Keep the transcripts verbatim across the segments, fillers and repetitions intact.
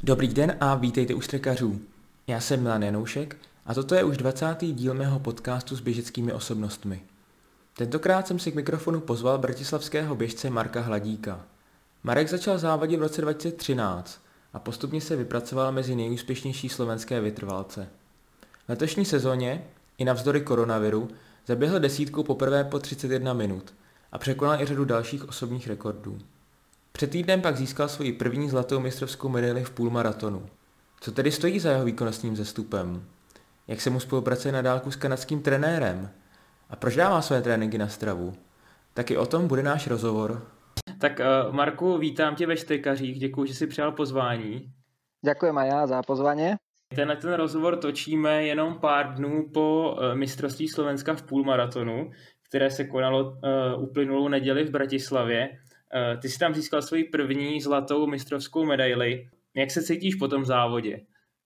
Dobrý den a vítejte u Strekařů. Já jsem Milan Janoušek a toto je už dvacátý díl mého podcastu s běžeckými osobnostmi. Tentokrát jsem si k mikrofonu pozval bratislavského běžce Marka Hladíka. Marek začal závodit v roce dva tisíce třináct a postupně se vypracoval mezi nejúspěšnější slovenské vytrvalce. V letošní sezóně, i navzdory koronaviru, zaběhl desítku poprvé po třicet jedna minut a překonal i řadu dalších osobních rekordů. Před týdnem pak získal svoji první zlatou mistrovskou medaili v půlmaratonu. Co tedy stojí za jeho výkonnostním zestupem? Jak se mu spolupracuje na dálku s kanadským trenérem? A proč dává své tréninky na stravu? Taky o tom bude náš rozhovor. Tak uh, Marku, vítám tě ve Strekařích, děkuji, že jsi přijal pozvání. Ďakujem aj ja za pozvanie. Tenhle ten rozhovor točíme jenom pár dnů po uh, mistrovství Slovenska v půlmaratonu, které se konalo uh, uplynulou neděli v Bratislavě. Uh, ty jsi tam získal svoji první zlatou mistrovskou medaili. Jak se cítíš po tom závodě?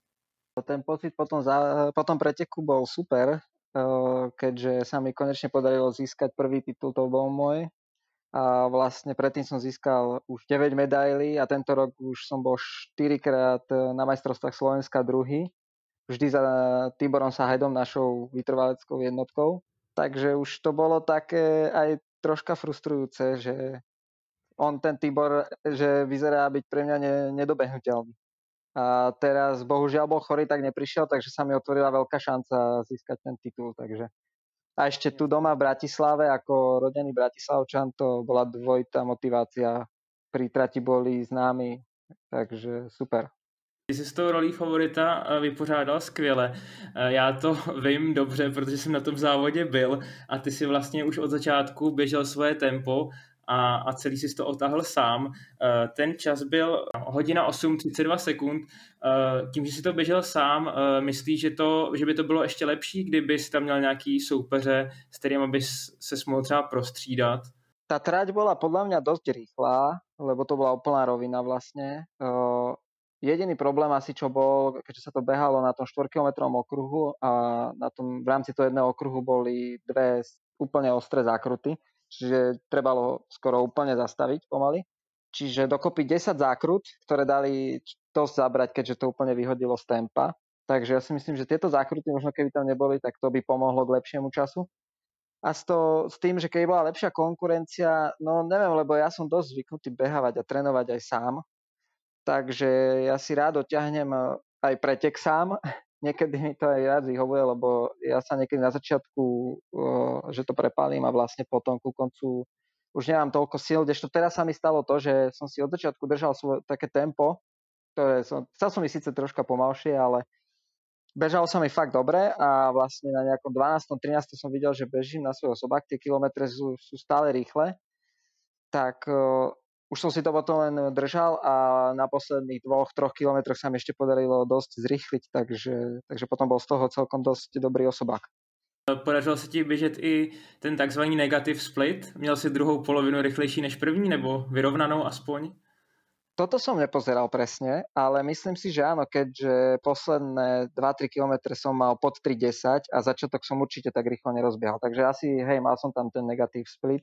Ten pocit po tom, zá, po tom preteku bol super, keďže sa mi konečne podarilo získať prvý titul, to bol môj. A vlastne predtým som získal už deväť medailí a tento rok už som bol štyrikrát na majstrovstvách Slovenska druhý. Vždy za Tiborom Sahajom, našou vytrvaleckou jednotkou. Takže už to bolo také aj troška frustrujúce, že on, ten Tibor, že vyzerá byť pre mňa ne, nedobehnuteľný. A teraz bohužiaľ bol chorý, tak neprišiel, takže sa mi otvorila veľká šanca získať ten titul. Takže. A ešte tu doma v Bratislave, ako rodený Bratislavčan, to bola dvojitá motivácia. Pri trati boli známi, takže super. Ty jsi s tou rolí favorita vypořádal skvěle. Já to vím dobře, protože jsem na tom závodě byl a ty si vlastně už od začátku běžel svoje tempo a, a celý si to otáhl sám. Ten čas byl hodina osm třicet dva sekund. Tím, že si to běžel sám, myslíš, že, to, že by to bylo ještě lepší, kdyby si tam měl nějaký soupeře, s kterým bys se mohl třeba prostřídat? Tá trať bola podľa mňa dosť rýchla, lebo to bola úplná rovina vlastne. Uh, jediný problém asi, čo bol, keďže sa to behalo na tom štvorkilometrovom okruhu a na tom, v rámci toho jedného okruhu boli dve úplne ostré zákruty, čiže trebalo skoro úplne zastaviť pomaly. Čiže dokopy desať zákrut, ktoré dali dosť zabrať, keďže to úplne vyhodilo z tempa. Takže ja si myslím, že tieto zákruty, možno keby tam neboli, tak to by pomohlo k lepšiemu času. A s, to, s tým, že keby bola lepšia konkurencia, no neviem, lebo ja som dosť zvyknutý behávať a trénovať aj sám. Takže ja si rád dotiahnem aj pretek sám. Niekedy mi to aj rád vyhovuje, lebo ja sa niekedy na začiatku, že to prepálim a vlastne potom ku koncu už nemám toľko síl, kdežto teraz sa mi stalo to, že som si od začiatku držal svoje také tempo, ktoré som, chcel som mi síce troška pomalšie, ale bežalo sa mi fakt dobre a vlastne na nejakom dvanástom trinástom som videl, že bežím na svoj osobák, tie kilometre sú, sú stále rýchle, tak uh, už som si to potom len držal a na posledných dvoch, troch kilometroch sa mi ešte podarilo dosť zrýchliť, takže, takže potom bol z toho celkom dosť dobrý osobák. Podařilo se ti běžet i ten takzvaný negative split? Měl si druhou polovinu rychlejší než první, nebo vyrovnanou aspoň? Toto som nepozeral presne, ale myslím si, že áno, keďže posledné dva tri kilometre som mal pod tri desať a začiatok som určite tak rýchlo nerozbiehal. Takže asi, hej, mal som tam ten negatív split.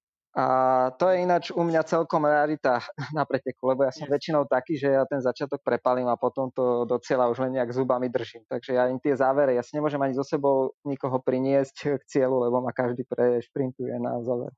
A to je ináč u mňa celkom rarita na preteku, lebo ja som väčšinou taký, že ja ten začiatok prepalím a potom to do cieľa už len nejak zubami držím. Takže ja im tie závere, ja si nemôžem ani so sebou nikoho priniesť k cieľu, lebo ma každý prešprintuje na záver.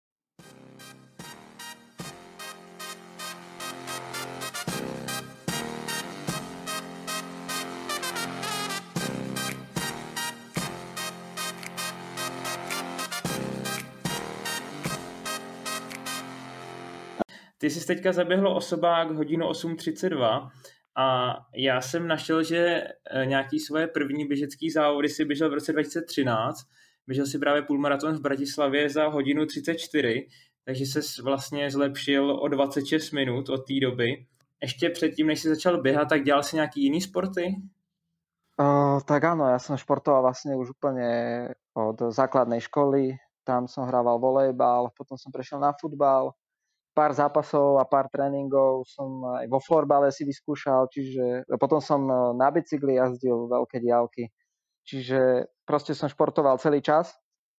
Ty jsi teďka zaběhlo osobák hodinu osm třicet dva a já jsem našel, že nějaký svoje první běžecký závody si běžel v roce dva tisíce třináct. Běžel si právě půlmaraton v Bratislavě za hodinu třicet čtyři, takže ses vlastně zlepšil o dvacet šest minut od té doby. Ještě předtím, než jsi začal běhat, tak dělal si nějaký jiný sporty? Uh, tak áno, ja som športoval vlastne už úplne od základnej školy. Tam som hrával volejbal, potom som prešiel na futbal. Pár zápasov a pár tréningov som aj vo florbale si vyskúšal, čiže potom som na bicykli jazdil veľké diaľky. Čiže proste som športoval celý čas.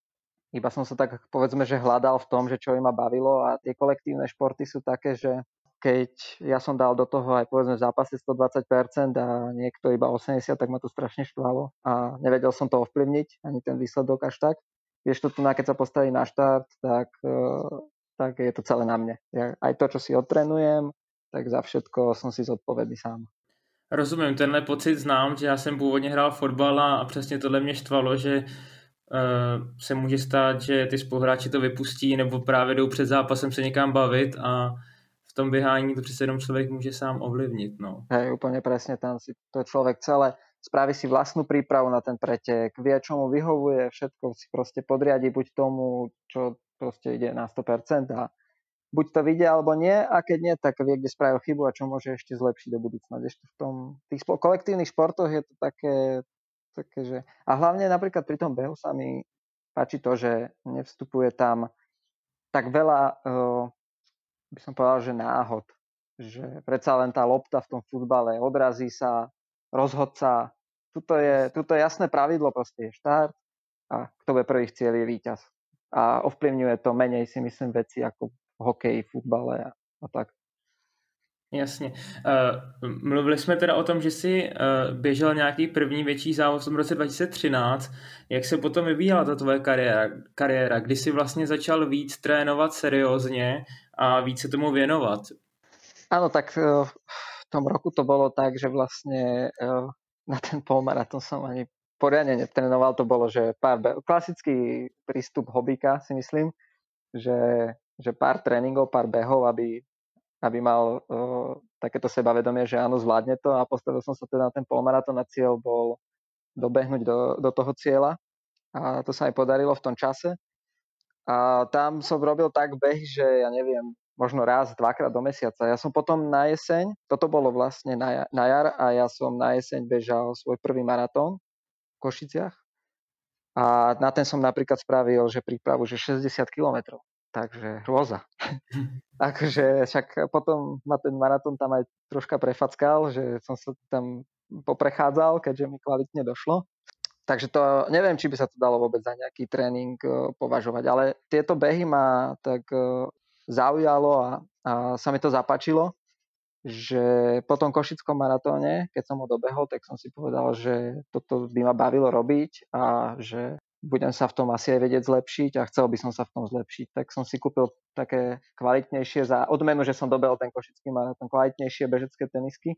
Iba som sa tak, povedzme, že hľadal v tom, že čo im ma bavilo a tie kolektívne športy sú také, že keď ja som dal do toho aj povedzme v zápase stodvadsať percent a niekto iba osemdesiat, tak ma to strašne štvalo a nevedel som to ovplyvniť, ani ten výsledok až tak. Vieš, to tu, keď sa postaví na štart, tak, tak je to celé na mne. Ja, aj to, čo si odtrenujem, tak za všetko som si zodpovědný sám. Rozumím, tenhle pocit znám, že já jsem původně hrál fotbal a přesně tohle mě štvalo, že uh, se může stát, že ty spoluhráči to vypustí nebo právě jdou před zápasem se někam bavit a v tom běhání to přece jenom člověk může sám ovlivnit. No. Hej, úplne presne, tam si to človek celé spraví si vlastnú prípravu na ten pretek, vie, čo mu vyhovuje, všetko si proste podriadi buď tomu, čo proste ide na sto percent a buď to vidie alebo nie a keď nie, tak vie, kde spravil chybu a čo môže ešte zlepšiť do budúcna. Ešte v tom tých kolektívnych športoch je to také, také, že... A hlavne napríklad pri tom behu sa mi páči to, že nevstupuje tam tak veľa, uh, by som povedal, že náhod. Že predsa len tá lopta v tom futbale odrazí sa, rozhodca. Tuto je, tuto je jasné pravidlo, proste je štart a kto bude prvý v cieli je víťaz. A ovplyvňuje to menej, si myslím, veci ako hokej, futbale a, a tak. Jasně. Uh, mluvili jsme teda o tom, že jsi uh, běžel nějaký první větší závod v tom roce dva tisíce třináct. Jak se potom vyvíjela ta tvoje kariéra? kariéra? Kdy jsi vlastně začal víc trénovat seriózně a víc se tomu věnovat? Áno, tak uh, v tom roku to bolo tak, že vlastne uh, na ten polmaratón som ani poriadne netrénoval. To bolo, že pár be- klasický prístup hobíka, si myslím, že, že pár tréningov, pár behov, aby aby mal uh, takéto sebavedomie, že áno, zvládne to a postavil som sa teda na ten polmaratón a cieľ bol dobehnúť do, do toho cieľa a to sa aj podarilo v tom čase a tam som robil tak beh, že ja neviem, možno raz, dvakrát do mesiaca. Ja som potom na jeseň, toto bolo vlastne na, na jar a ja som na jeseň bežal svoj prvý maratón v Košiciach a na ten som napríklad spravil, že prípravu, že šesťdesiat kilometrov. Takže hrôza. Takže však potom ma ten maratón tam aj troška prefackal, že som sa tam poprechádzal, keďže mi kvalitne došlo. Takže to neviem, či by sa to dalo vôbec za nejaký tréning považovať, ale tieto behy ma tak zaujalo a, a sa mi to zapáčilo, že po tom košickom maratóne, keď som ho dobehol, tak som si povedal, že toto by ma bavilo robiť a že budem sa v tom asi aj vedieť zlepšiť a chcel by som sa v tom zlepšiť. Tak som si kúpil také kvalitnejšie za odmenu, že som dobehol ten košický maratón, kvalitnejšie bežecké tenisky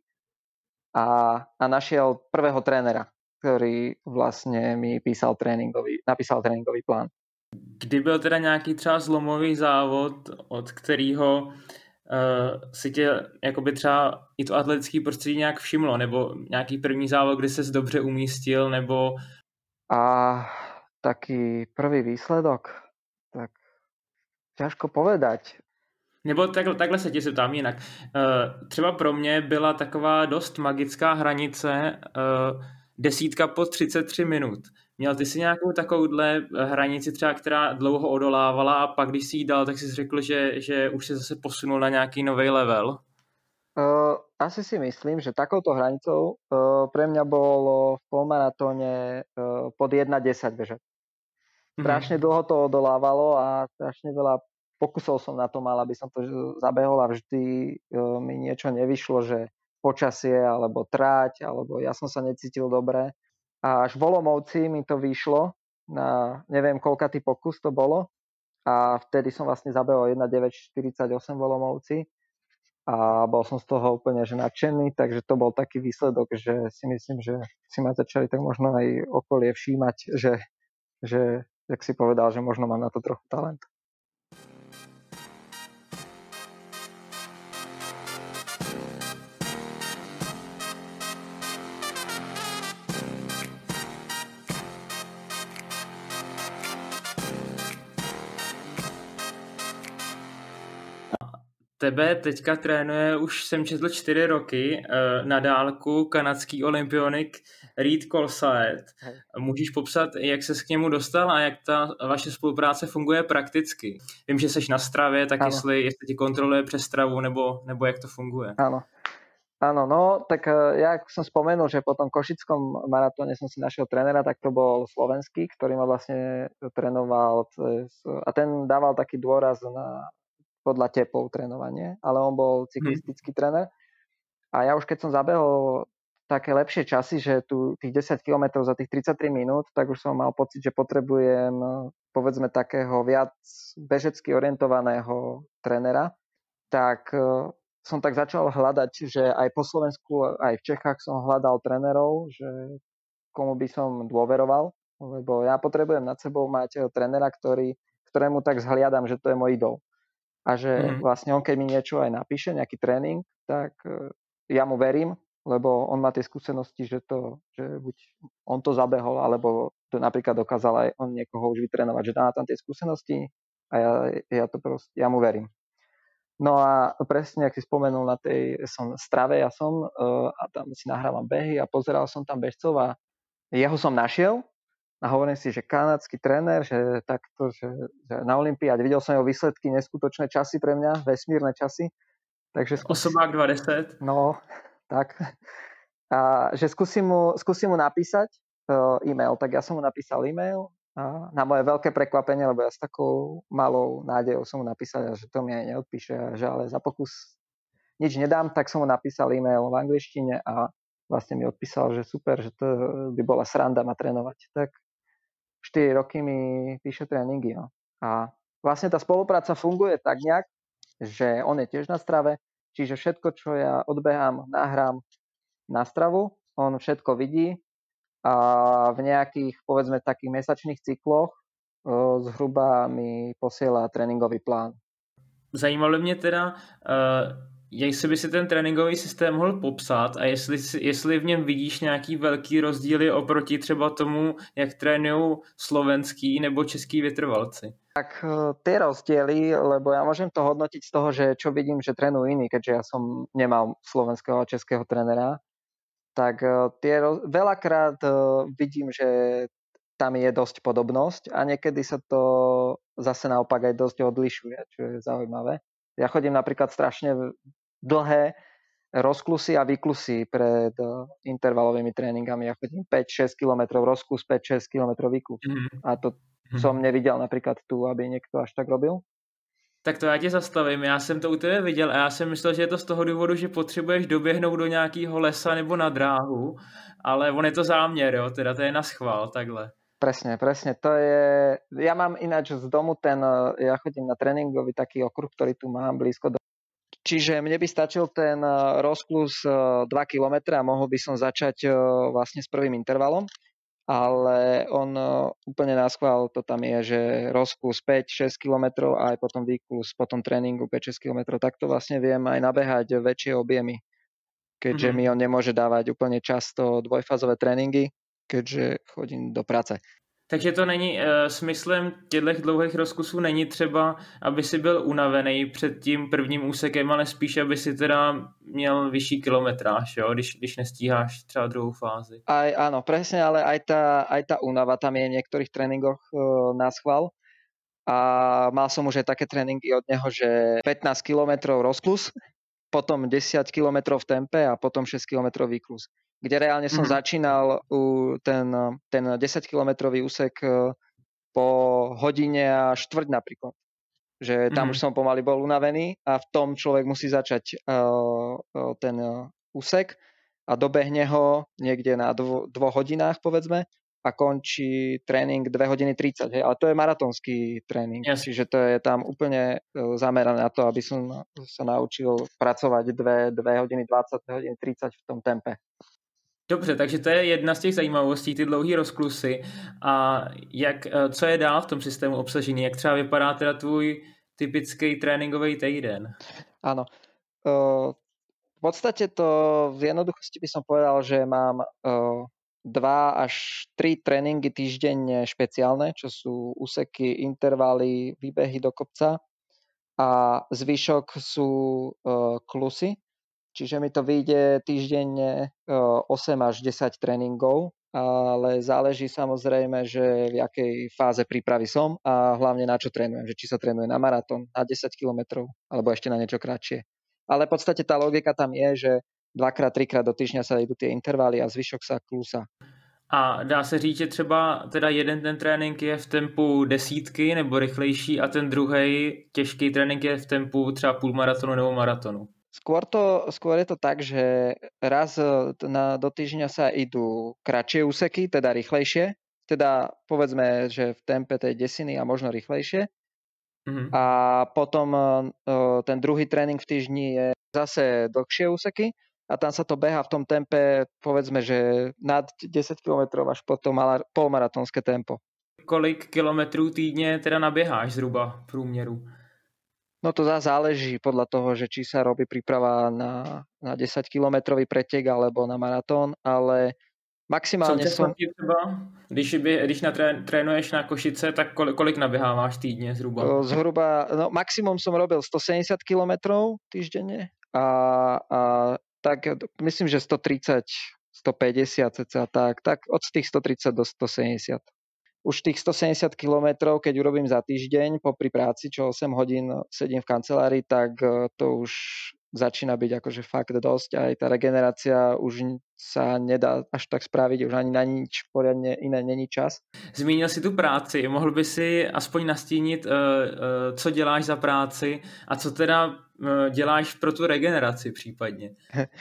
a, a našiel prvého trénera, ktorý vlastne mi písal tréningový, napísal tréningový plán. Kdy byl teda nějaký třeba zlomový závod, od kterého uh, si tě jakoby třeba i to atletické prostředí nějak všimlo, nebo nějaký první závod, kdy ses dobře umístil, nebo... A taký prvý výsledok, tak ťažko povedať. Nebo takhle, takhle se tě zeptám jinak. Uh, třeba pro mě byla taková dost magická hranice uh, desítka po třicet tři minut. Měl ty si nějakou takovouhle hranici třeba, která dlouho odolávala a pak když si ji dal, tak jsi řekl, že, že už se zase posunul na nějaký nový level? Uh, asi si myslím, že takouto hranicou uh, pre mňa bolo v polmaratóne uh, pod jedna desať bežať. Strašne dlho to odolávalo a strašne veľa pokusov som na to mal, aby som to zabehol a vždy uh, mi niečo nevyšlo, že počasie alebo tráť, alebo ja som sa necítil dobre. A až v Olomouci mi to vyšlo, na neviem koľkatý pokus to bolo a vtedy som vlastne zabehol jedna deväť štyridsaťosem v Olomouci a bol som z toho úplne že nadšený, takže to bol taký výsledok, že si myslím, že si ma začali tak možno aj okolie všímať, že, že jak si povedal, že možno mám na to trochu talent. Tebe teďka trénuje, už jsem četl čtyři roky, na dálku kanadský olympionik Reed Colsaet. Můžeš popsat, jak ses k němu dostal a jak ta vaše spolupráce funguje prakticky? Vím, že seš na stravě, tak jestli, jestli ti kontroluje přes stravu, nebo, nebo jak to funguje? Áno. Áno, no, tak ja som spomenul, že po tom košickom maratóne som si našiel trénera, tak to bol slovenský, ktorý ma vlastne trénoval a ten dával taký dôraz na podľa tepov trénovanie, ale on bol cyklistický Hmm. tréner. A ja už keď som zabehol také lepšie časy, že tu tých desať kilometrov za tých tridsaťtri minút, tak už som mal pocit, že potrebujem povedzme takého viac bežecky orientovaného trénera. Tak som tak začal hľadať, že aj po Slovensku, aj v Čechách som hľadal trénerov, že komu by som dôveroval, lebo ja potrebujem nad sebou mať trénera, ktorý, ktorému tak zhliadam, že to je môj idol. A že Hmm. vlastne on, keď mi niečo aj napíše, nejaký tréning, tak ja mu verím, lebo on má tie skúsenosti, že, to, že buď on to zabehol, alebo to napríklad dokázal aj on niekoho už vytrénovať, že dá tam tie skúsenosti a ja, ja to proste, ja mu verím. No a presne, ak si spomenul, na tej som strave ja som uh, a tam si nahrávam behy a pozeral som tam bežcov a jeho som našiel a hovorím si, že kanadský tréner, že takto, že, že na olympiáde videl som jeho výsledky, neskutočné časy pre mňa, vesmírne časy. Takže skús... Osobák dvadsať. No, tak. A že skúsim mu, skúsim mu napísať uh, e-mail. Tak ja som mu napísal e-mail a na moje veľké prekvapenie, lebo ja s takou malou nádejou som mu napísal, že to mi aj neodpíše, že ale za pokus nič nedám, tak som mu napísal e-mail v angličtine a vlastne mi odpísal, že super, že to by bola sranda ma trénovať. Tak štyri roky mi píše tréningy. No. A vlastne tá spolupráca funguje tak nejak, že on je tiež na strave, čiže všetko, čo ja odbehám, nahrám na stravu, on všetko vidí a v nejakých, povedzme, takých mesačných cykloch o, zhruba mi posiela tréninkový plán. Zajímalo mě teda, uh, jestli by si ten tréninkový systém mohl popsat a jestli, jestli v něm vidíš nějaký velký rozdíly oproti třeba tomu, jak trénují slovenský nebo český vytrvalci. Tak tie rozdiely, lebo ja môžem to hodnotiť z toho, že čo vidím, že trénujú iní, keďže ja som nemal slovenského a českého trénera, tak tie roz... veľakrát vidím, že tam je dosť podobnosť a niekedy sa to zase naopak aj dosť odlišuje, čo je zaujímavé. Ja chodím napríklad strašne dlhé rozklusy a výklusy pred intervalovými tréningami. Ja chodím päť šesť kilometrov rozklus, päť šesť kilometrov výklus. Mm-hmm. A to som neviděl například tu, aby někdo až tak robil. Tak to já tě zastavím, já jsem to u tebe viděl a já jsem myslel, že je to z toho důvodu, že potřebuješ doběhnout do nějakého lesa nebo na dráhu, ale on je to záměr, jo, teda to je na schvál, takhle. Presne, presne, to je, ja mám ináč z domu ten, ja chodím na tréningový taký okruh, ktorý tu mám blízko do... Čiže mne by stačil ten rozklus dva kilometre a mohol by som začať vlastne s prvým intervalom, ale on úplne na schvál to tam je, že rozklus päť šesť kilometrov a aj potom výklus po tom tréningu päť šesť kilometrov, tak to vlastne viem aj nabehať väčšie objemy, keďže mm-hmm. mi on nemôže dávať úplne často dvojfázové tréningy, keďže chodím do práce. Takže to není e, smyslem těchto dlouhých rozkusů není třeba, aby si byl unavený před tím prvním úsekem, ale spíš, aby si teda měl vyšší kilometráž, jo, když, když nestíháš třeba druhou fázi. Aj, áno, presne, ale aj tá, aj tá únava tam je v niektorých tréningoch e, na schvál. A mal som už aj také tréningy od neho, že pätnásť kilometrov rozklus, potom desať kilometrov v tempe a potom šesť kilometrov výklus. Kde reálne som mm-hmm. začínal u ten, ten desaťkilometrový úsek po hodine a štvrť napríklad. Že tam mm-hmm. už som pomaly bol unavený a v tom človek musí začať uh, ten úsek a dobehne ho niekde na dvo, dvoch hodinách povedzme a končí tréning dve hodiny tridsať. Hej? Ale to je maratónsky tréning, yes. Čiže to je tam úplne zamerané na to, aby som sa naučil pracovať dve hodiny dvadsať, dve hodiny tridsať v tom tempe. Dobře, takže to je jedna z těch zajímavostí, ty dlouhý rozklusy. A jak, co je dál v tom systému obsažený? Jak třeba vypadá teda tvůj typický tréninkový týden? Áno. V podstate to v jednoduchosti by som povedal, že mám dva až tri tréningy týždenne špeciálne, čo sú úseky, intervaly, výbehy do kopca a zvyšok sú klusy. Čiže mi to vyjde týždenne osem až desať tréningov, ale záleží samozrejme, že v jakej fáze prípravy som a hlavne na čo trénujem. Že či sa trénuje na maratón, na desať kilometrov alebo ešte na niečo kratšie. Ale v podstate tá logika tam je, že dvakrát, trikrát do týždňa sa idú tie intervaly a zvyšok sa klúsa. A dá se říct, že třeba teda jeden ten trénink je v tempu desítky nebo rychlejší a ten druhý těžký trénink je v tempu třeba půlmaratonu nebo maratonu? Skôr, to, skôr je to tak, že raz na, do týždňa sa idú kratšie úseky, teda rýchlejšie. Teda povedzme, že v tempe tej desiny a možno rýchlejšie. Mm-hmm. A potom ten druhý tréning v týždni je zase dlhšie úseky a tam sa to beha v tom tempe, povedzme, že nad desať kilometrov až po to polmaratonské tempo. Kolik kilometrů týdně teda naběháš zhruba v průměru? No to záleží podľa toho, že či sa robí príprava na, na desaťkilometrový pretek alebo na maratón, ale maximálne som... Třeba, když, by, když natré, trénuješ na Košice, tak kolik, kolik naběháváš týdně zhruba? Zhruba, no maximum som robil stosedemdesiat kilometrov týždenne a, a tak myslím, že stotridsať, stopäťdesiat cca tak, tak od tých stotridsať do stosedemdesiat. Už tých stosedemdesiat kilometrov, keď urobím za týždeň popri práci, čo osem hodín sedím v kancelárii, tak to už začína byť akože fakt dosť. Aj tá regenerácia už sa nedá až tak spraviť, už ani na nič poriadne iné není čas. Zmínil si tu práci, mohl by si aspoň nastínit, co děláš za práci a co teda děláš pro tu regeneraci případně?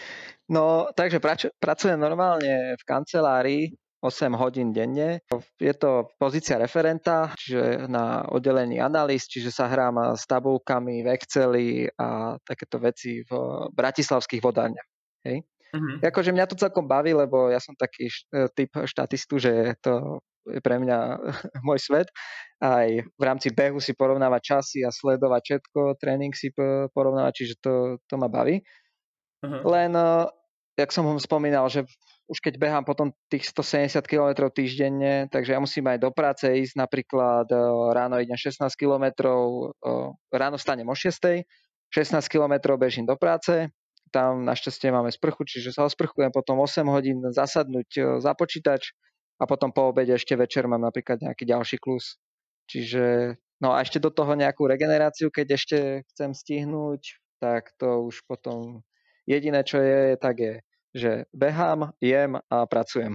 No, takže prač- pracujem normálne v kancelárii osem hodín denne. Je to pozícia referenta, čiže na oddelení analýz, čiže sa hrám s tabulkami v Exceli a takéto veci v bratislavských vodárniach. Hej. Mm-hmm. Akože mňa to celkom baví, lebo ja som taký typ štatistu, že to je pre mňa môj svet. Aj v rámci behu si porovnávať časy a sledovať všetko, tréning si porovnávať, čiže to, to ma baví. Mm-hmm. Len, jak som ho spomínal, že už keď behám potom tých stosedemdesiat kilometrov týždenne, takže ja musím aj do práce ísť, napríklad ráno idem šestnásť kilometrov, ráno vstanem o šiestej, šestnásť kilometrov bežím do práce, tam našťastie máme sprchu, čiže sa osprchujem, potom osem hodín zasadnúť za počítač a potom po obede ešte večer mám napríklad nejaký ďalší klus. Čiže, no a ešte do toho nejakú regeneráciu, keď ešte chcem stihnúť, tak to už potom jediné, čo je, tak je, že behám, jem a pracujem.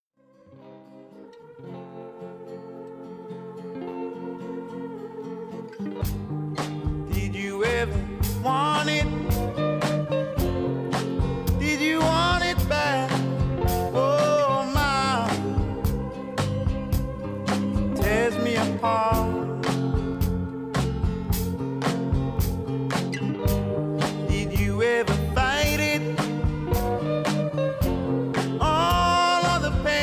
Did you ever want it? Did you want it back? Oh my, tears me apart. Did you ever fight it? All of the pain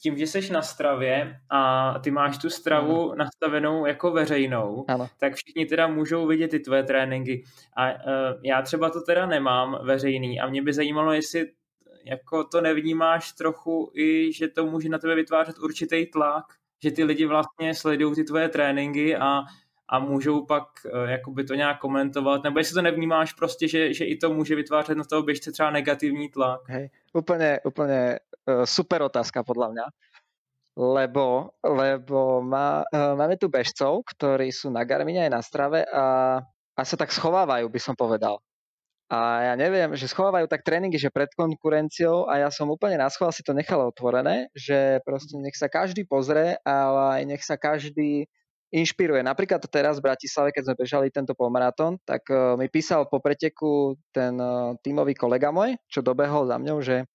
tím, že jsi na stravě a ty máš tu stravu ano. nastavenou jako veřejnou, ano. tak všichni teda můžou vidět ty tvoje tréninky. A uh, já třeba to teda nemám veřejný a mě by zajímalo, jestli jako to nevnímáš trochu i, že to může na tebe vytvářet určitý tlak, že ty lidi vlastně sledují ty tvoje tréninky a, a můžou pak uh, jakoby to nějak komentovat, nebo jestli to nevnímáš prostě, že, že i to může vytvářet na toho běžce třeba negativní tlak. Hej, úplne, úplne uh, super otázka podľa mňa. Lebo, lebo má, uh, máme tu bežcov, ktorí sú na Garmine aj na strave a, a sa tak schovávajú, by som povedal. A ja neviem, že schovávajú tak tréningy, že pred konkurenciou a ja som úplne na schvál si to nechal otvorené, že proste nech sa každý pozrie, ale aj nech sa každý inšpiruje. Napríklad teraz v Bratislave, keď sme bežali tento polmaratón, tak uh, mi písal po preteku ten uh, tímový kolega môj, čo dobehol za mňou, že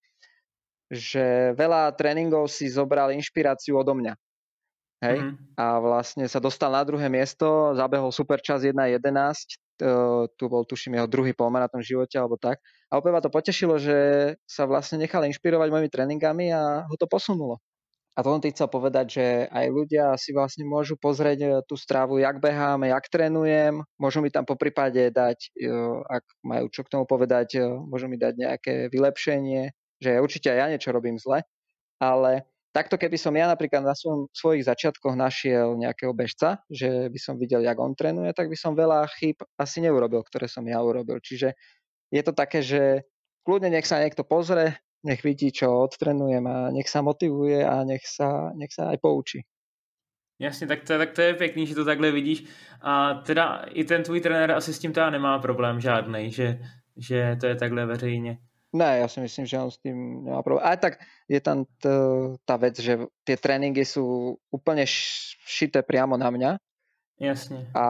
že veľa tréningov si zobral inšpiráciu odo mňa. Hej? Mm-hmm. A vlastne sa dostal na druhé miesto, zabehol super čas jedna jedenásť, tu bol tuším jeho druhý polmaratón v živote alebo tak. A opäť ma to potešilo, že sa vlastne nechal inšpirovať mojimi tréningami a ho to posunulo. A to som ti chcel povedať, že aj ľudia si vlastne môžu pozrieť tú stravu, jak beháme, jak trénujem, môžu mi tam poprípade dať, ak majú čo k tomu povedať, môžu mi dať nejaké vylepšenie, že určite aj ja niečo robím zle, ale takto keby som ja napríklad na svojom, svojich začiatkoch našiel nejakého bežca, že by som videl, jak on trénuje, tak by som veľa chýb asi neurobil, ktoré som ja urobil. Čiže je to také, že kľudne nech sa niekto pozrie, nech vidí, čo odtrenujem a nech sa motivuje a nech sa, nech sa aj poučí. Jasně, tak to, tak to je pěkný, že to takhle vidíš. A teda i ten tvůj trenér asi s tím teda nemá problém žádnej, že, že to je takhle veřejně. Ne, ja si myslím, že on s tým nemá problém. Aj tak je tam t, tá vec, že tie tréningy sú úplne šité priamo na mňa. Jasne. A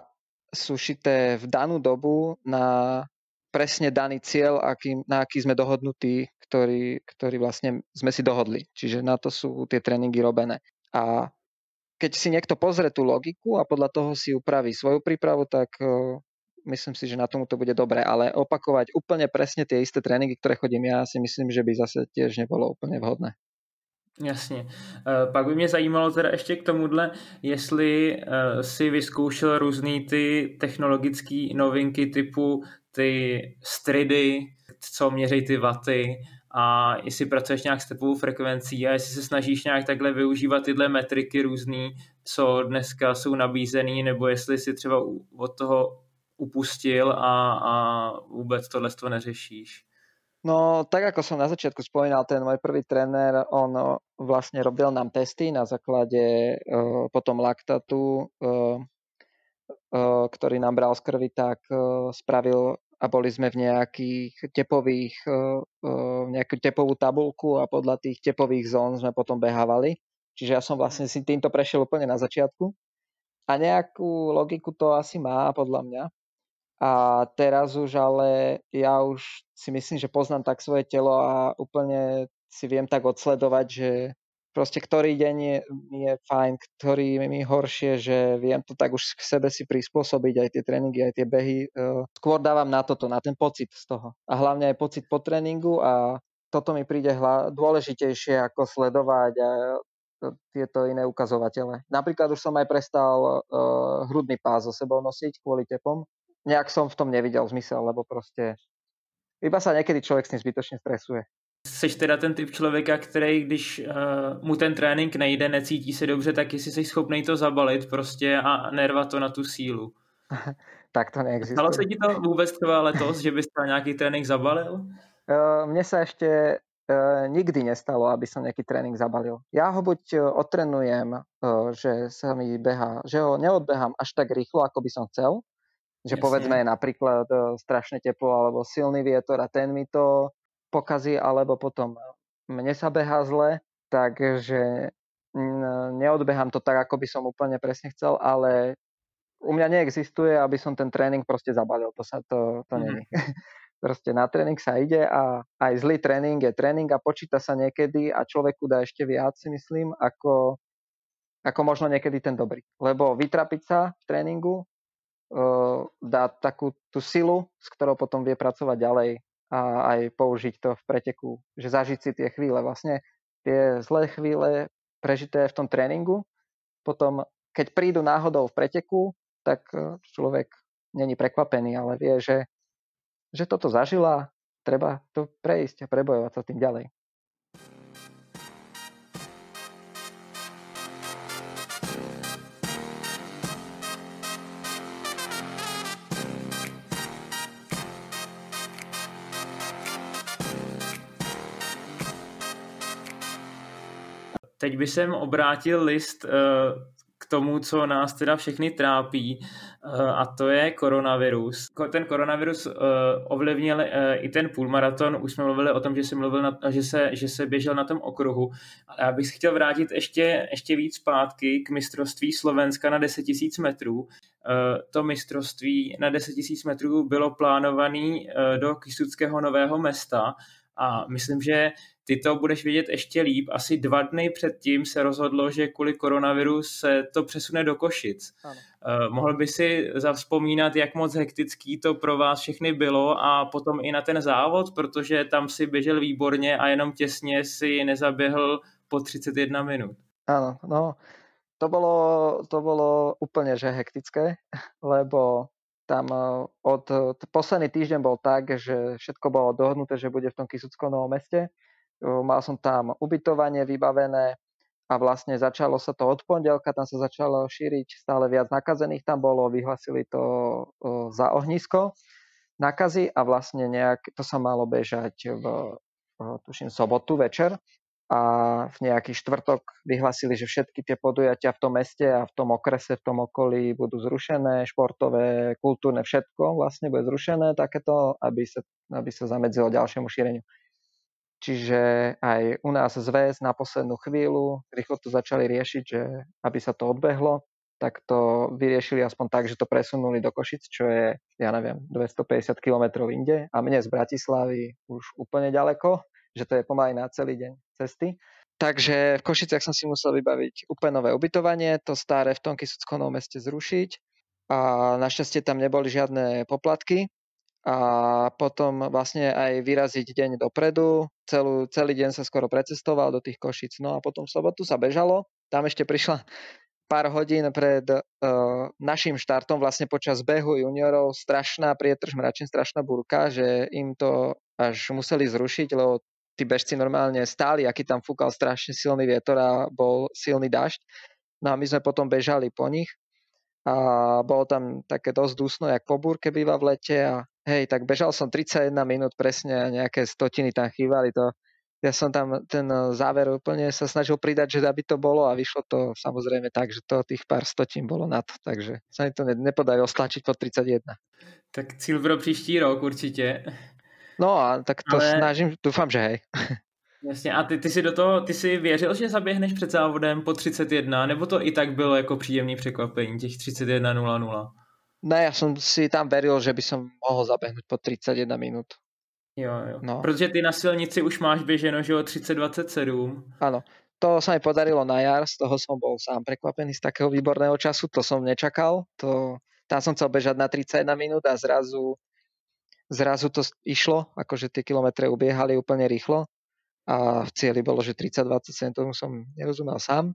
sú šité v danú dobu na presne daný cieľ, aký, na aký sme dohodnutí, ktorý, ktorý vlastne sme si dohodli. Čiže na to sú tie tréningy robené. A keď si niekto pozrie tú logiku a podľa toho si upraví svoju prípravu, tak myslím si, že na tomu to bude dobré, ale opakovať úplne presne tie isté tréninky, ktoré chodím ja, si myslím, že by zase tiež nebolo úplne vhodné. Jasně. Pak by mě zajímalo teda ještě k tomuhle, jestli si vyzkoušel různý ty technologické novinky typu ty stridy, co měří ty waty a jestli pracuješ nějak s tepovou frekvencí a jestli se snažíš nějak takhle využívat tyhle metriky různý, co dneska jsou nabízený, nebo jestli si třeba od toho upustil a, a vůbec tohle to neřešíš. No, tak ako som na začiatku spomínal, ten môj prvý tréner, on vlastne robil nám testy na základe uh, potom laktatu, uh, uh, ktorý nám bral z krvi, tak uh, spravil a boli sme v nejakých tepových, uh, uh, nejakú tepovú tabuľku a podľa tých tepových zón sme potom behávali. Čiže ja som vlastne si týmto prešiel úplne na začiatku. A nejakú logiku to asi má, podľa mňa. A teraz už ale ja už si myslím, že poznám tak svoje telo a úplne si viem tak odsledovať, že proste ktorý deň je, je fajn, ktorý mi horšie, že viem to tak už k sebe si prispôsobiť, aj tie tréningy, aj tie behy. Skôr dávam na toto, na ten pocit z toho. A hlavne aj pocit po tréningu a toto mi príde hla- dôležitejšie ako sledovať a tieto iné ukazovatele. Napríklad už som aj prestal uh, hrudný pás so sebou nosiť kvôli tepom. Nejak som v tom nevidel zmysel, lebo proste iba sa niekedy človek s tým zbytočne stresuje. Seš teda ten typ člověka, který když uh, mu ten trénink nejde, necítí se dobře, tak jestli jsi schopný to zabalit prostě a nervat to na tu sílu. Tak to neexistuje. Stalo se ti to vůbec třeba letos, že bys tam nějaký trénink zabalil? Uh, mne sa ešte uh, nikdy nestalo, aby som nejaký tréning zabalil. Ja ho buď uh, otrenujem, uh, že sa mi behá, že ho neodbehám až tak rýchlo, ako by som chcel, že Jasne. Povedzme napríklad uh, strašne teplo alebo silný vietor a ten mi to pokazí, alebo potom mne sa behá zle, takže neodbehám to tak, ako by som úplne presne chcel, ale u mňa neexistuje, aby som ten tréning proste zabalil. To sa to, to mm-hmm. není. Proste na tréning sa ide a aj zlý tréning je tréning a počíta sa niekedy a človeku dá ešte viac, si myslím, ako, ako možno niekedy ten dobrý. Lebo vytrapiť sa v tréningu uh, dá takú tú silu, s ktorou potom vie pracovať ďalej a aj použiť to v preteku, že zažiť si tie chvíle. Vlastne tie zlé chvíle prežité v tom tréningu, potom keď prídu náhodou v preteku, tak človek není prekvapený, ale vie, že, že toto zažila, treba to prejsť a prebojovať sa tým ďalej. Teď by jsem obrátil list k tomu, co nás teda všechny trápí, a to je koronavirus. Ten koronavirus ovlivnil i ten půlmaraton. Už jsme mluvili o tom, že se, mluvil na, že se, že se běžel na tom okruhu. Ale já bych se chtěl vrátit ještě, ještě víc zpátky k mistrovství Slovenska na deset tisíc metrů. To mistrovství na deset tisíc metrů bylo plánované do Kysuckého Nového Mesta a myslím, že ty to budeš vědět ještě líp. Asi dva dny předtím se rozhodlo, že kvůli koronaviru se to přesune do Košic. Ano. Uh, mohl by si zavzpomínat, jak moc hektický to pro vás všechny bylo a potom i na ten závod, protože tam si běžel výborně a jenom těsně si nezaběhl po třicet jedna minut. Áno, no to bolo, to bolo úplne že hektické, lebo tam od posledný týždeň bol tak, že všetko bolo dohodnuté, že bude v tom Kysuckom Novom Meste. Mal som tam ubytovanie vybavené a vlastne začalo sa to od pondelka, tam sa začalo šíriť stále viac nakazených, tam bolo, vyhlasili to za ohnisko nakazy a vlastne nejak, to sa malo bežať v, tuším, sobotu večer a v nejaký štvrtok vyhlasili, že všetky tie podujatia v tom meste a v tom okrese, v tom okolí budú zrušené, športové, kultúrne, všetko vlastne bude zrušené takéto, aby sa, aby sa zamedzilo ďalšiemu šíreniu. Čiže aj u nás zväz na poslednú chvíľu rýchlo to začali riešiť, že aby sa to odbehlo, tak to vyriešili aspoň tak, že to presunuli do Košic, čo je, ja neviem, dvestopäťdesiat kilometrov inde a mne z Bratislavy už úplne ďaleko, že to je pomaly na celý deň cesty. Takže v Košiciach som si musel vybaviť úplne nové ubytovanie, to staré v tom Kysuckom Novom Meste zrušiť a našťastie tam neboli žiadne poplatky. A potom vlastne aj vyraziť deň dopredu. Celú, celý deň sa skoro precestoval do tých Košíc. No a potom v sobotu sa bežalo. Tam ešte prišla pár hodín pred uh, našim štartom, vlastne počas behu juniorov, strašná prietrž mračen, strašná búrka, že im to až museli zrušiť, lebo tí bežci normálne stáli, aký tam fúkal strašne silný vietor a bol silný dažď. No a my sme potom bežali po nich. A bolo tam také dosť dusno, jak po búrke býva v lete a hej, tak bežal som tridsaťjeden minút presne a nejaké stotiny tam chýbali. To, ja som tam ten záver úplne sa snažil pridať, že aby to bolo a vyšlo to samozrejme tak, že to tých pár stotín bolo na to, takže sa mi to nepodarilo stlačiť po tridsaťjeden. Tak cíl pro příští rok určitě. No a tak to Ale... snažím, dúfam, že hej. Jasně, a ty, ty si do toho, ty si věřil, že zaběhneš před závodem po třicet jedna, nebo to i tak bylo jako příjemný překvapení, těch třicet jedna nula nula? Ne, ja som si tam veril, že by som mohol zabehnúť po tridsaťjeden minút. Jo, jo. No. Protože ty na silnici už máš běženo, že o třicet dvacet sedm. Áno, to sa mi podarilo na jar, z toho som bol sám prekvapený z takého výborného času, to som nečakal, to, tam som chcel bežať na tridsaťjeden minút a zrazu, zrazu to išlo, akože tie kilometre ubiehali úplne rýchlo. A v cieli bolo, že tridsať dvadsaťsedem, tomu som nerozumel sám.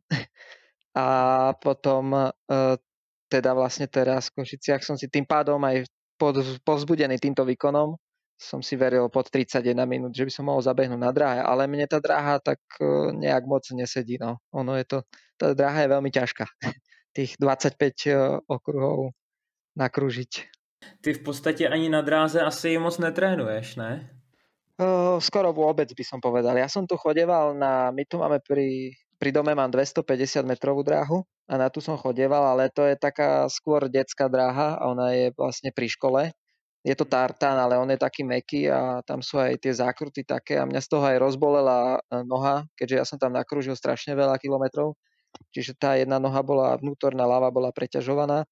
A potom e, teda vlastne teraz v Košiciach som si tým pádom aj pod, povzbudený týmto výkonom som si veril pod tridsaťjeden minút, že by som mohol zabehnúť na dráhe, ale mne tá dráha tak e, nejak moc nesedí. No. Ono je to, tá dráha je veľmi ťažká. Tých dvadsaťpäť e, okruhov nakrúžiť. Ty v podstate ani na dráze asi moc netrénuješ, ne? Skoro vôbec by som povedal. Ja som tu chodeval na, my tu máme pri, pri dome mám dvestopäťdesiat metrovú dráhu a na tu som chodeval, ale to je taká skôr detská dráha a ona je vlastne pri škole. Je to tartán, ale on je taký mäkký a tam sú aj tie zákruty také a mňa z toho aj rozbolela noha, keďže ja som tam nakrúžil strašne veľa kilometrov. Čiže tá jedna noha bola vnútorná, ľava bola preťažovaná.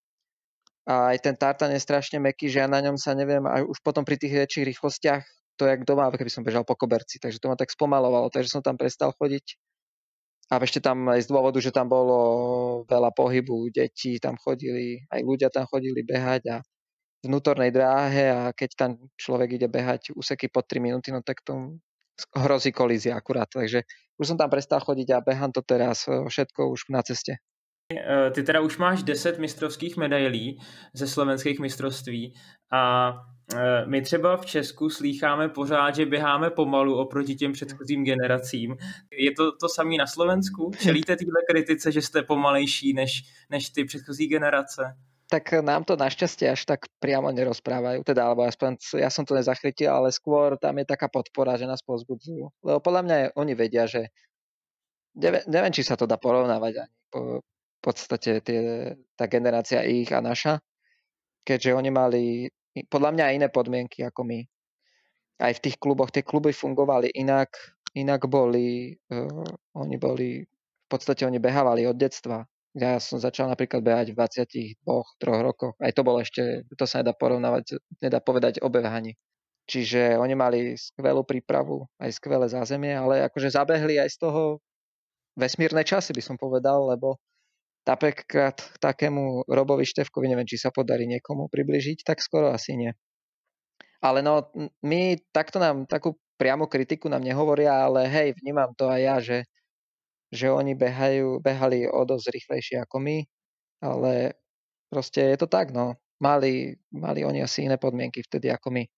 A aj ten tartán je strašne mäkký, že ja na ňom sa neviem, a už potom pri tých väčších rýchlostiach to jak doma, keby som bežal po koberci, takže to ma tak spomalovalo, takže som tam prestal chodiť. A ešte tam aj z dôvodu, že tam bolo veľa pohybu, deti tam chodili, aj ľudia tam chodili behať a vnútornej dráhe a keď tam človek ide behať úseky po tri minúty, no tak to hrozí kolízia akurát, takže už som tam prestal chodiť a behám to teraz všetko už na ceste. Ty teda už máš deset mistrovských medailí ze slovenských mistrovství a my třeba v Česku slýcháme pořád, že běháme pomalu oproti těm předchozím generacím. Je to to samé na Slovensku? Čelíte téhle kritice, že jste pomalejší než, než ty předchozí generace? Tak nám to našťastie až tak priamo nerozprávajú, teda, alebo aspoň ja som to nezachytil, ale skôr tam je taká podpora, že nás povzbudzujú. Lebo podľa mňa oni vedia, že neviem, neviem či sa to dá porovnávať ani po, v podstate tie, tá generácia ich a naša, keďže oni mali podľa mňa iné podmienky ako my. Aj v tých kluboch, tie kluby fungovali inak, inak boli, uh, oni boli, v podstate oni behávali od detstva. Ja som začal napríklad behať v dvadsiatich dvoch troch rokoch. Aj to bolo ešte, to sa nedá porovnávať, nedá povedať o behaní. Čiže oni mali skvelú prípravu, aj skvelé zázemie, ale akože zabehli aj z toho vesmírne časy, by som povedal, lebo napríklad k takému Robovi Štefkovi, neviem, či sa podarí niekomu približiť, tak skoro asi nie. Ale no, my takto nám, takú priamu kritiku nám nehovoria, ale hej, vnímam to aj ja, že, že oni behajú, behali o dosť rýchlejšie ako my, ale proste je to tak, no. Mali, mali oni asi iné podmienky vtedy ako my.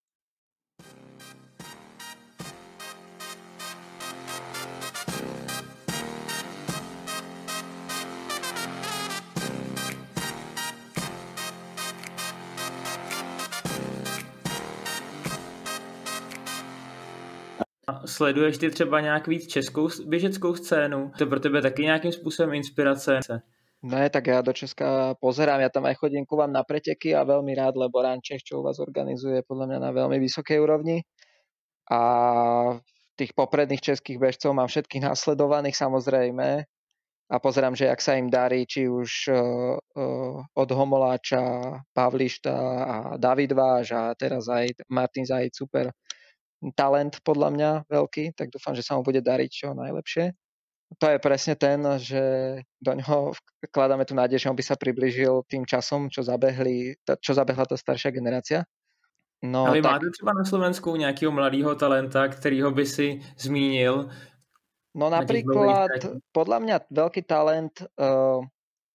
Sleduješ ty třeba nějak víc českou běžeckou scénu? To pro tebe taky nějakým způsobem inspirace? Ne, tak ja do Česka pozerám, ja tam aj chodím ku vám na preteky a veľmi rád, lebo Run Čech, čo u vás organizuje, podľa mňa na veľmi vysokej úrovni. A tých popredných českých bežcov mám všetkých nasledovaných samozrejme a pozerám, že jak sa im darí, či už uh, uh, od Homoláča, Pavlišta a David Váš a teraz aj Martin Zajíc, super talent podľa mňa veľký, tak dúfam, že sa mu bude dariť čo najlepšie. To je presne ten, že do ňoho vkladáme tú nádej, že on by sa priblížil tým časom, čo zabehli, čo zabehla tá staršia generácia. No, a vy tak... máte třeba na Slovensku nejakého mladého talenta, ktorýho by si zmínil? No napríklad, podľa mňa veľký talent uh, uh,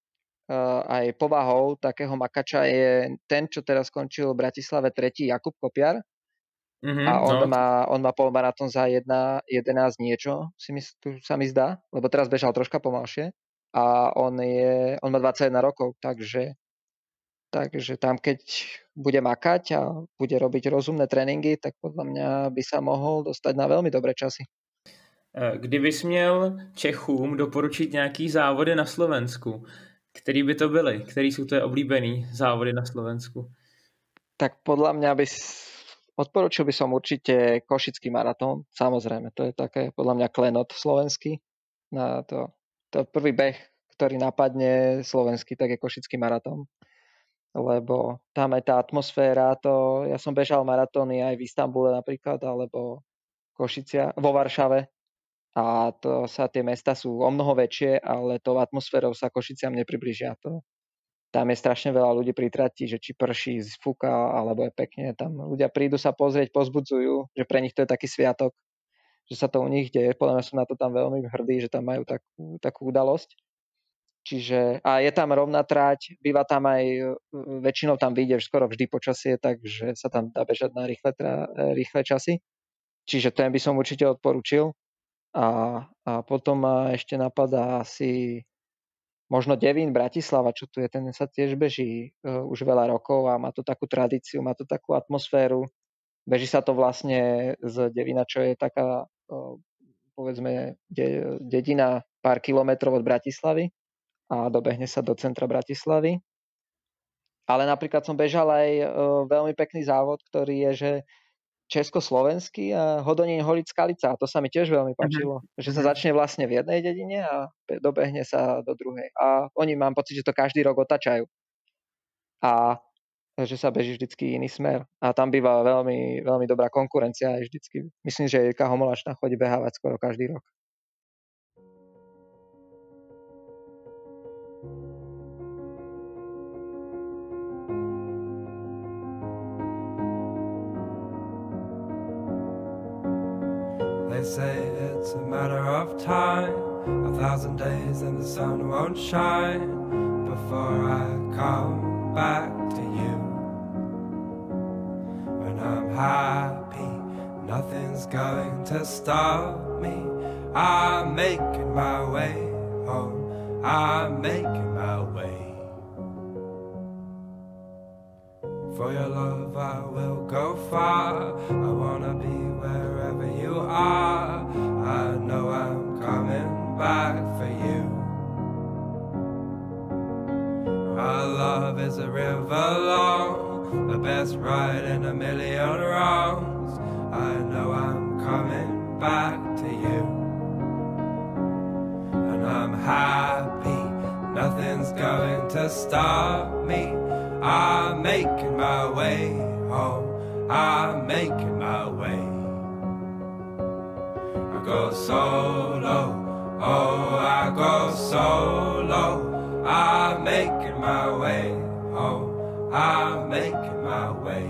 aj povahou takého makača je ten, čo teraz skončil v Bratislave tretí, Jakub Kopiar. Mm-hmm, a on, no. má, on má polmaratón za jedna jedenásť niečo, si mi, sa mi zdá, lebo teraz bežal troška pomalšie. A on, je, on má dvadsaťjeden rokov, takže, takže tam keď bude makať a bude robiť rozumné tréningy, tak podľa mňa by sa mohol dostať na veľmi dobré časy. Kdybys měl Čechům doporučit nějaký závody na Slovensku, který by to byly? Který jsou tvoje oblíbený závody na Slovensku? Tak podľa mňa by odporučil by som určite Košický maratón. Samozrejme, to je také podľa mňa klenot slovenský. Na to, to prvý beh, ktorý napadne slovenský, tak je Košický maratón. Lebo tam je tá atmosféra, to, ja som bežal maratóny aj v Istanbule napríklad, alebo Košicia, vo Varšave. A to sa, tie mesta sú o mnoho väčšie, ale tou atmosférou sa Košiciam nepriblížia. To, tam je strašne veľa ľudí pri trati, že či prší, fúka, alebo je pekne. Tam ľudia prídu sa pozrieť, pozbudzujú, že pre nich to je taký sviatok, že sa to u nich deje. Podľa mňa som na to tam veľmi hrdý, že tam majú takú, takú udalosť. Čiže, a je tam rovná trať, býva tam aj, väčšinou tam vyjde skoro vždy počasie, takže sa tam dá bežať na rýchle, rýchle časy. Čiže ten by som určite odporučil. A, a potom ma ešte napadá asi možno Devín Bratislava, čo tu je, ten sa tiež beží uh, už veľa rokov a má to takú tradíciu, má to takú atmosféru. Beží sa to vlastne z Devína, čo je taká, uh, povedzme, de- dedina pár kilometrov od Bratislavy a dobehne sa do centra Bratislavy. Ale napríklad som bežal aj uh, veľmi pekný závod, ktorý je, že československý a Hodonín Holic Skalica. A to sa mi tiež veľmi páčilo. Mm-hmm. Že sa začne vlastne v jednej dedine a dobehne sa do druhej. A oni, mám pocit, že to každý rok otačajú. A že sa beží vždycky iný smer. A tam býva veľmi, veľmi dobrá konkurencia aj vždycky. Myslím, že Jirka Homolačná chodí behávať skoro každý rok. Let's say it's a matter of time, a thousand days and the sun won't shine before I come back to you. When I'm happy, nothing's going to stop me. I'm making my way home, I'm making my way. For your love I will go far, I wanna be wherever you are. I know I'm coming back for you. Our love is a river long, the best ride in a million wrongs. I know I'm coming back to you. And I'm happy, nothing's going to stop me. I'm making my way home, I'm making my way. I go solo, oh I go solo. I'm making my way home, I'm making my way.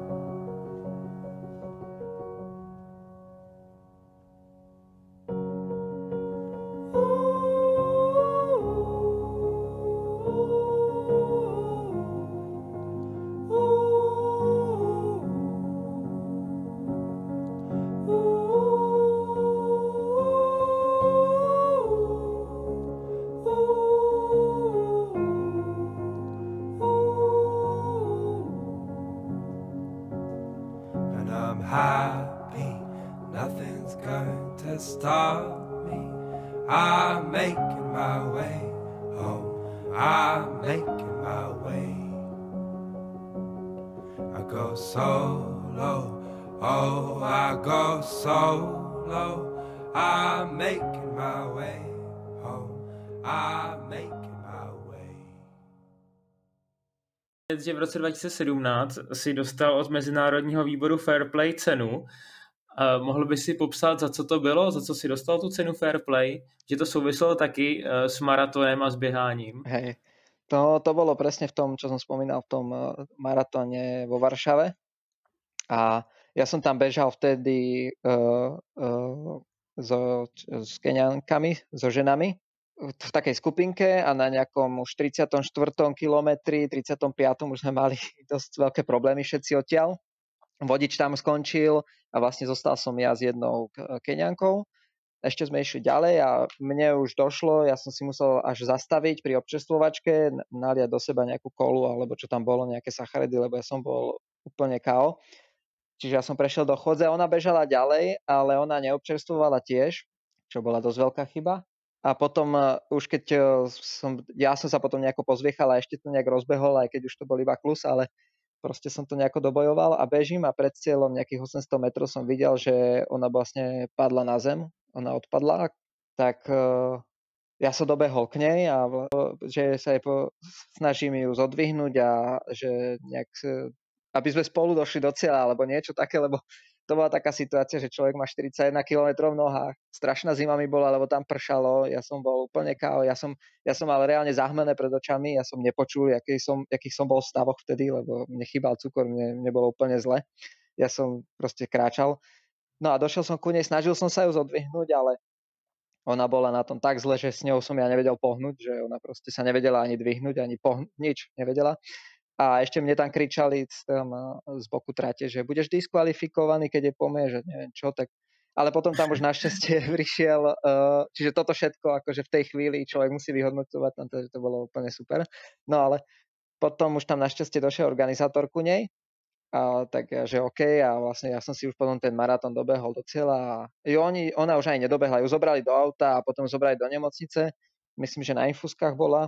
Happy, nothing's going to stop me. I'm making my way home, I'm making my way. I go solo, oh I go solo. I'm making my way home, I'm making my way. Že v roce dva tisíce sedmnáct si dostal od Mezinárodního výboru Fair Play cenu. Uh, mohl by si popsat, za co to bylo, za co si dostal tu cenu Fair Play? Že to souviselo taky uh, s maratonem a s běháním. Hej, to, to bolo presne v tom, čo som spomínal, v tom uh, maratóne vo Varšave. A ja som tam bežal vtedy uh, uh, so, s Keňankami, so ženami v takej skupinke a na nejakom už tridsiatom štvrtom kilometri, tridsiatom piatom už sme mali dosť veľké problémy všetci odtiaľ. Vodič tam skončil a vlastne zostal som ja s jednou Keňankou. Ešte sme išli ďalej a mne už došlo, ja som si musel až zastaviť pri občerstvovačke, naliať do seba nejakú kolu alebo čo tam bolo, nejaké sacharidy, lebo ja som bol úplne ká ó. Čiže ja som prešiel do chodze, ona bežala ďalej, ale ona neobčerstvovala tiež, čo bola dosť veľká chyba. A potom uh, už keď uh, som, ja som sa potom nejako pozviechal a ešte to nejak rozbehol, aj keď už to bol iba klus, ale proste som to nejako dobojoval a bežím a pred cieľom nejakých osemsto metrov som videl, že ona vlastne padla na zem, ona odpadla, tak uh, ja som dobehol k nej a uh, že sa jej po, snažím ju zodvihnúť a že nejak, uh, aby sme spolu došli do cieľa alebo niečo také, lebo to bola taká situácia, že človek má štyridsaťjeden kilometrov v nohách. Strašná zima mi bola, lebo tam pršalo, ja som bol úplne ká ó, ja som, ja som mal reálne zahmlené pred očami, ja som nepočul, aký som, akých som bol v stavoch vtedy, lebo mne chýbal cukor, mne, mne bolo úplne zle. Ja som proste kráčal. No a došiel som ku nej, snažil som sa ju zodvihnúť, ale ona bola na tom tak zle, že s ňou som ja nevedel pohnúť, že ona proste sa nevedela ani dvihnúť, ani pohnúť, nič nevedela. A ešte mne tam kričali z, tam, z boku trate, že budeš diskvalifikovaný, keď je pomie, že neviem čo, tak... Ale potom tam už našťastie prišiel, uh, čiže toto všetko, akože v tej chvíli človek musí vyhodnocovať, tam to, to bolo úplne super. No ale potom už tam našťastie došiel organizátor ku nej, a tak ja, že OK, a vlastne ja som si už potom ten maratón dobehol do cieľa a jo, oni, ona už aj nedobehla, ju zobrali do auta a potom zobrali do nemocnice, myslím, že na infúzkach bola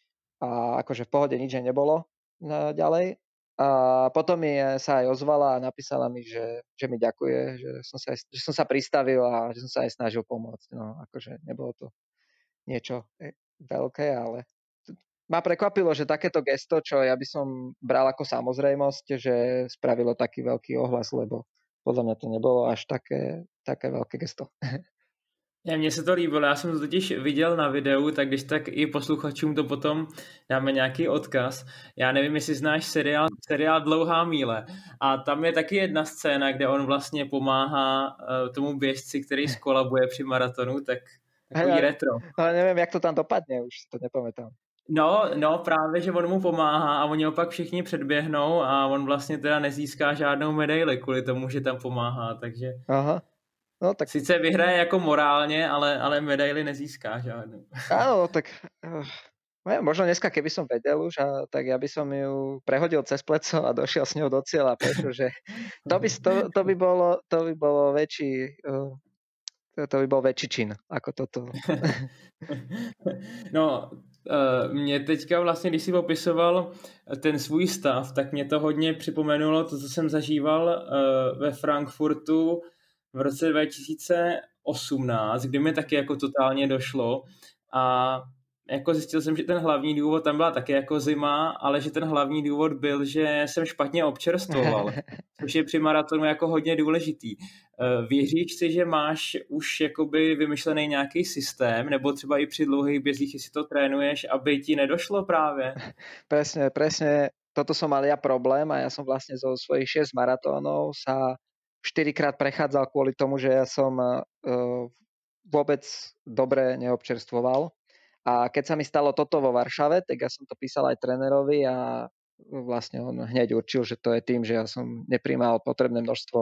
a akože v pohode nič nebolo ďalej. A potom mi sa aj ozvala a napísala mi, že, že mi ďakuje, že som, sa aj, že som sa pristavil a že som sa aj snažil pomôcť. No, akože nebolo to niečo veľké, ale ma prekvapilo, že takéto gesto, čo ja by som bral ako samozrejmosť, že spravilo taký veľký ohlas, lebo podľa mňa to nebolo až také, také veľké gesto. Ja, mně se to líbilo, já jsem to totiž viděl na videu, tak když tak i posluchačům to potom dáme nějaký odkaz. Já nevím, jestli znáš seriál, seriál Dlouhá míle a tam je taky jedna scéna, kde on vlastně pomáhá uh, tomu běžci, který skolabuje při maratonu, tak takový Hej, retro. ale neviem, jak to tam dopadne, už si to nepamätám. No, no, právě, že on mu pomáhá a oni ho pak všichni předběhnou a on vlastně teda nezíská žádnou medaili kvůli tomu, že tam pomáhá, takže Aha. No tak... sice vyhraje jako morálně, ale, ale medaili nezíská žádnou. Áno, tak uh, možno dneska, keby som vedel už, a, tak ja by som ju prehodil cez pleco a došiel s ňou do cieľa, pretože to by, to, to by bolo, to by bolo väčší, uh, to, to by bol väčší čin ako toto. No, mě teďka vlastně, když si popisoval ten svůj stav, tak mě to hodně připomenulo to, co jsem zažíval ve Frankfurtu v roce dva tisíce osmnáct, kdy mi taky jako totálně došlo a jako zjistil jsem, že ten hlavní důvod, tam byla taky jako zima, ale že ten hlavní důvod byl, že jsem špatně občerstvoval, což je při maratonu jako hodně důležitý. Věříš si, že máš už jakoby vymyšlený nějaký systém, nebo třeba i při dlouhých bězích, jestli to trénuješ, aby ti nedošlo právě? Presne, presne, toto som mal ja problém a ja som vlastne zo svojich šesť maratónov sa štyrikrát prechádzal kvôli tomu, že ja som uh, vôbec dobre neobčerstvoval. A keď sa mi stalo toto vo Varšave, tak ja som to písal aj trénerovi a vlastne on hneď určil, že to je tým, že ja som nepríjmal potrebné množstvo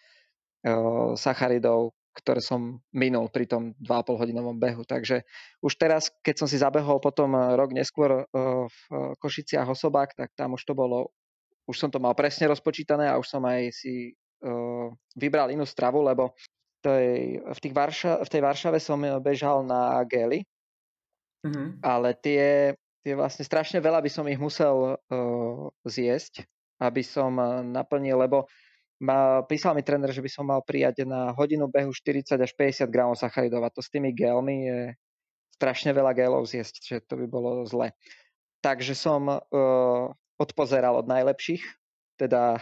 uh, sacharidov, ktoré som minul pri tom dva a pol hodinovom behu. Takže už teraz, keď som si zabehol potom rok neskôr uh, v Košiciach Osobák, tak tam už to bolo, už som to mal presne rozpočítané a už som aj si uh, vybral inú stravu, lebo tej, v, tých Varša, v tej Varšave som bežal na gély, mm-hmm. ale tie, tie vlastne strašne veľa by som ich musel uh, zjesť, aby som naplnil, lebo ma, písal mi tréner, že by som mal prijať na hodinu behu štyridsať až päťdesiat gramov sacharidov a to s tými gélmi je strašne veľa gélov zjesť, že to by bolo zle. Takže som uh, odpozeral od najlepších, teda,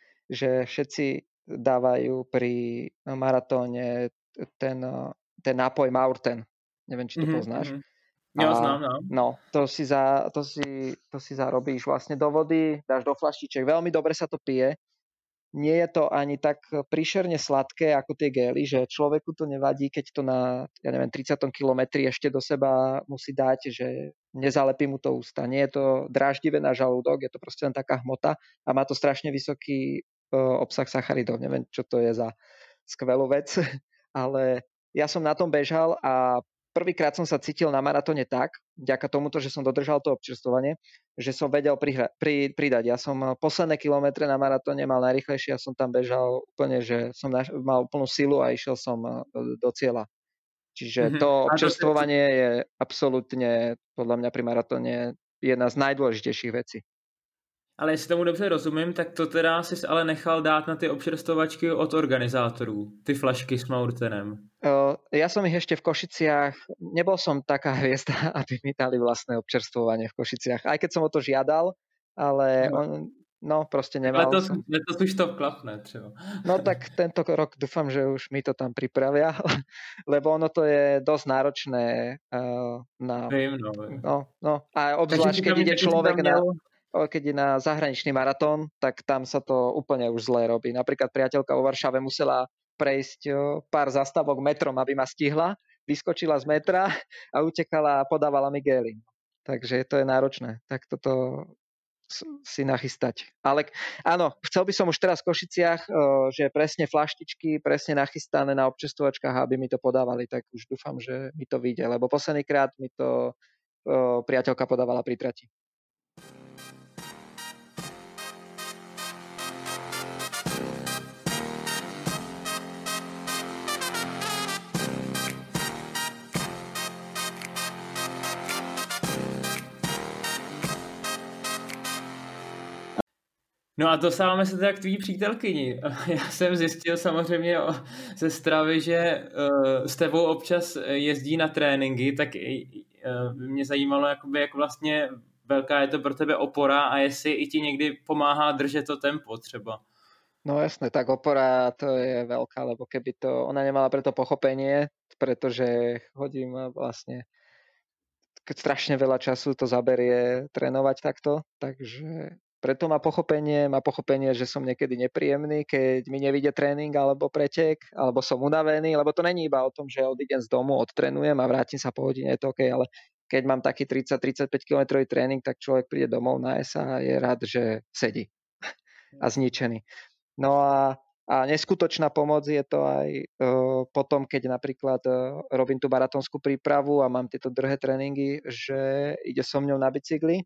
že všetci dávajú pri maratóne ten, ten nápoj Maurten. Neviem, či to mm-hmm. poznáš. Ja znám, no. No, to si, za, to, si, to si zarobíš vlastne do vody, dáš do flaštiček. Veľmi dobre sa to pije. Nie je to ani tak príšerne sladké ako tie gély, že človeku to nevadí, keď to na, ja neviem, tridsiatom kilometri ešte do seba musí dať, že nezalepí mu to ústa. Nie je to dráždivé na žalúdok, je to proste len taká hmota a má to strašne vysoký uh, obsah sacharidov. Neviem, čo to je za skvelú vec, ale ja som na tom bežal a prvýkrát som sa cítil na maratóne tak, vďaka tomuto, že som dodržal to občerstvovanie, že som vedel prihra- pri, pridať. Ja som posledné kilometre na maratóne mal najrýchlejšie, ja som tam bežal úplne, že som naš- mal úplnú silu a išiel som do, do cieľa. Čiže mm-hmm. to občerstvovanie je absolútne, podľa mňa pri maratóne, jedna z najdôležitejších vecí. Ale jestli tomu dobře rozumím, tak to teda jsi ale nechal dát na ty občerstvovačky od organizátorů, ty flašky s Maurtenem. Uh, ja som ich ešte v Košiciach, nebol som taká hviezda, aby mi dali vlastné občerstvovanie v Košiciach, aj keď som o to žiadal, ale no, on, no proste nemal letos, som. Letos už to klapne třeba. No tak tento rok dúfam, že už mi to tam pripravia, lebo ono to je dosť náročné uh, na... Vím, no, vím. no, no. A obzvlášť, keď ide človek na... keď je na zahraničný maratón, tak tam sa to úplne už zle robí. Napríklad priateľka vo Varšave musela prejsť pár zastavok metrom, aby ma stihla, vyskočila z metra a utekala a podávala mi gély. Takže to je náročné. Tak toto si nachystať. Ale áno, chcel by som už teraz v Košiciach, že presne flaštičky, presne nachystané na občerstvovačkách, aby mi to podávali, tak už dúfam, že mi to vyjde, lebo posledný krát mi to priateľka podávala pri trati. No a dostáváme se teda k tvý přítelkyni. Já jsem zjistil samozřejmě ze stravy, že uh, s tebou občas jezdí na tréninky, tak uh, mě zajímalo, jakoby, jak vlastně velká je to pro tebe opora a jestli i ti někdy pomáhá držet to tempo třeba. No jasné, tak opora to je veľká, lebo keby to, ona nemala preto pochopenie, pretože chodím vlastne keď strašne veľa času to zaberie trénovať takto, takže preto má pochopenie, má pochopenie, že som niekedy nepríjemný, keď mi nevíde tréning alebo pretek, alebo som unavený, lebo to není iba o tom, že odídem z domu, odtrénujem a vrátim sa po hodine, je to OK, ale keď mám taký tridsať tridsaťpäť kilometrový tréning, tak človek príde domov, naje sa a je rád, že sedí a zničený. No a A neskutočná pomoc je to aj uh, potom, keď napríklad uh, robím tú maratónskú prípravu a mám tieto drhé tréningy, že ide so mňou na bicykli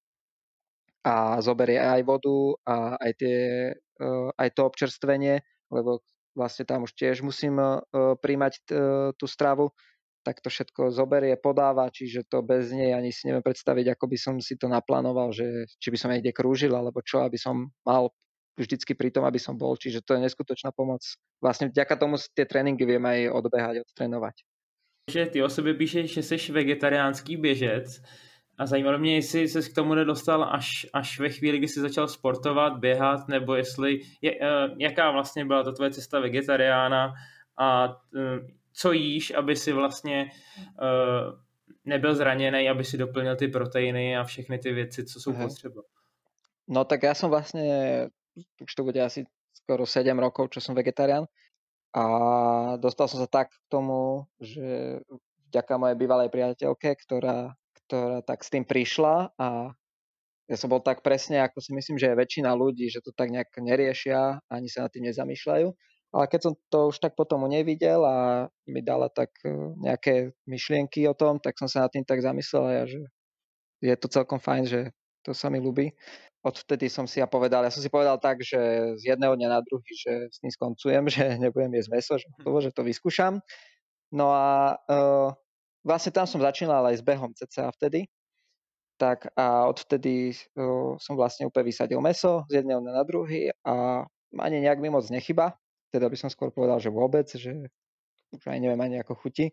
a zoberie aj vodu a aj, tie, uh, aj to občerstvenie, lebo vlastne tam už tiež musím uh, príjmať uh, tú stravu, tak to všetko zoberie, podáva, čiže to bez nej ani si neviem predstaviť, ako by som si to naplánoval, že či by som niekde krúžil, alebo čo, aby som mal vždycky pri tom, aby som bol, čiže to je neskutočná pomoc. Vlastne vďaka tomu tie tréninky viem aj odbehať, odtrénovať. Že ty o sobě píšeš, že jsi vegetariánský běžec a zajímalo mě, jestli ses k tomu nedostal až, až ve chvíli, kdy jsi začal sportovat, běhat, nebo jestli, je, jaká vlastně byla ta tvoje cesta vegetariána a co jíš, aby si vlastně uh, nebyl zraněný, aby si doplnil ty proteiny a všechny ty věci, co jsou potřeba. No tak ja som vlastne, už to bude asi skoro sedem rokov, čo som vegetarián a dostal som sa tak k tomu, že vďaka mojej bývalej priateľke, ktorá, ktorá tak s tým prišla a ja som bol tak presne, ako si myslím, že je väčšina ľudí, že to tak nejak neriešia, ani sa nad tým nezamýšľajú. Ale keď som to už tak potom nevidel a mi dala tak nejaké myšlienky o tom, tak som sa nad tým tak zamyslel a ja, že je to celkom fajn, že to sa mi ľúbi. Odvtedy som si ja povedal, ja som si povedal tak, že z jedného dňa na druhý, že s tým skoncujem, že nebudem jesť mäso, že to, že to vyskúšam. No a uh, vlastne tam som začínal aj s behom cca vtedy. Tak a odvtedy uh, som vlastne úplne vysadil mäso z jedného dňa na druhý a ani nejak mi moc nechyba. Teda by som skôr povedal, že vôbec, že už aj neviem ani ako chutí.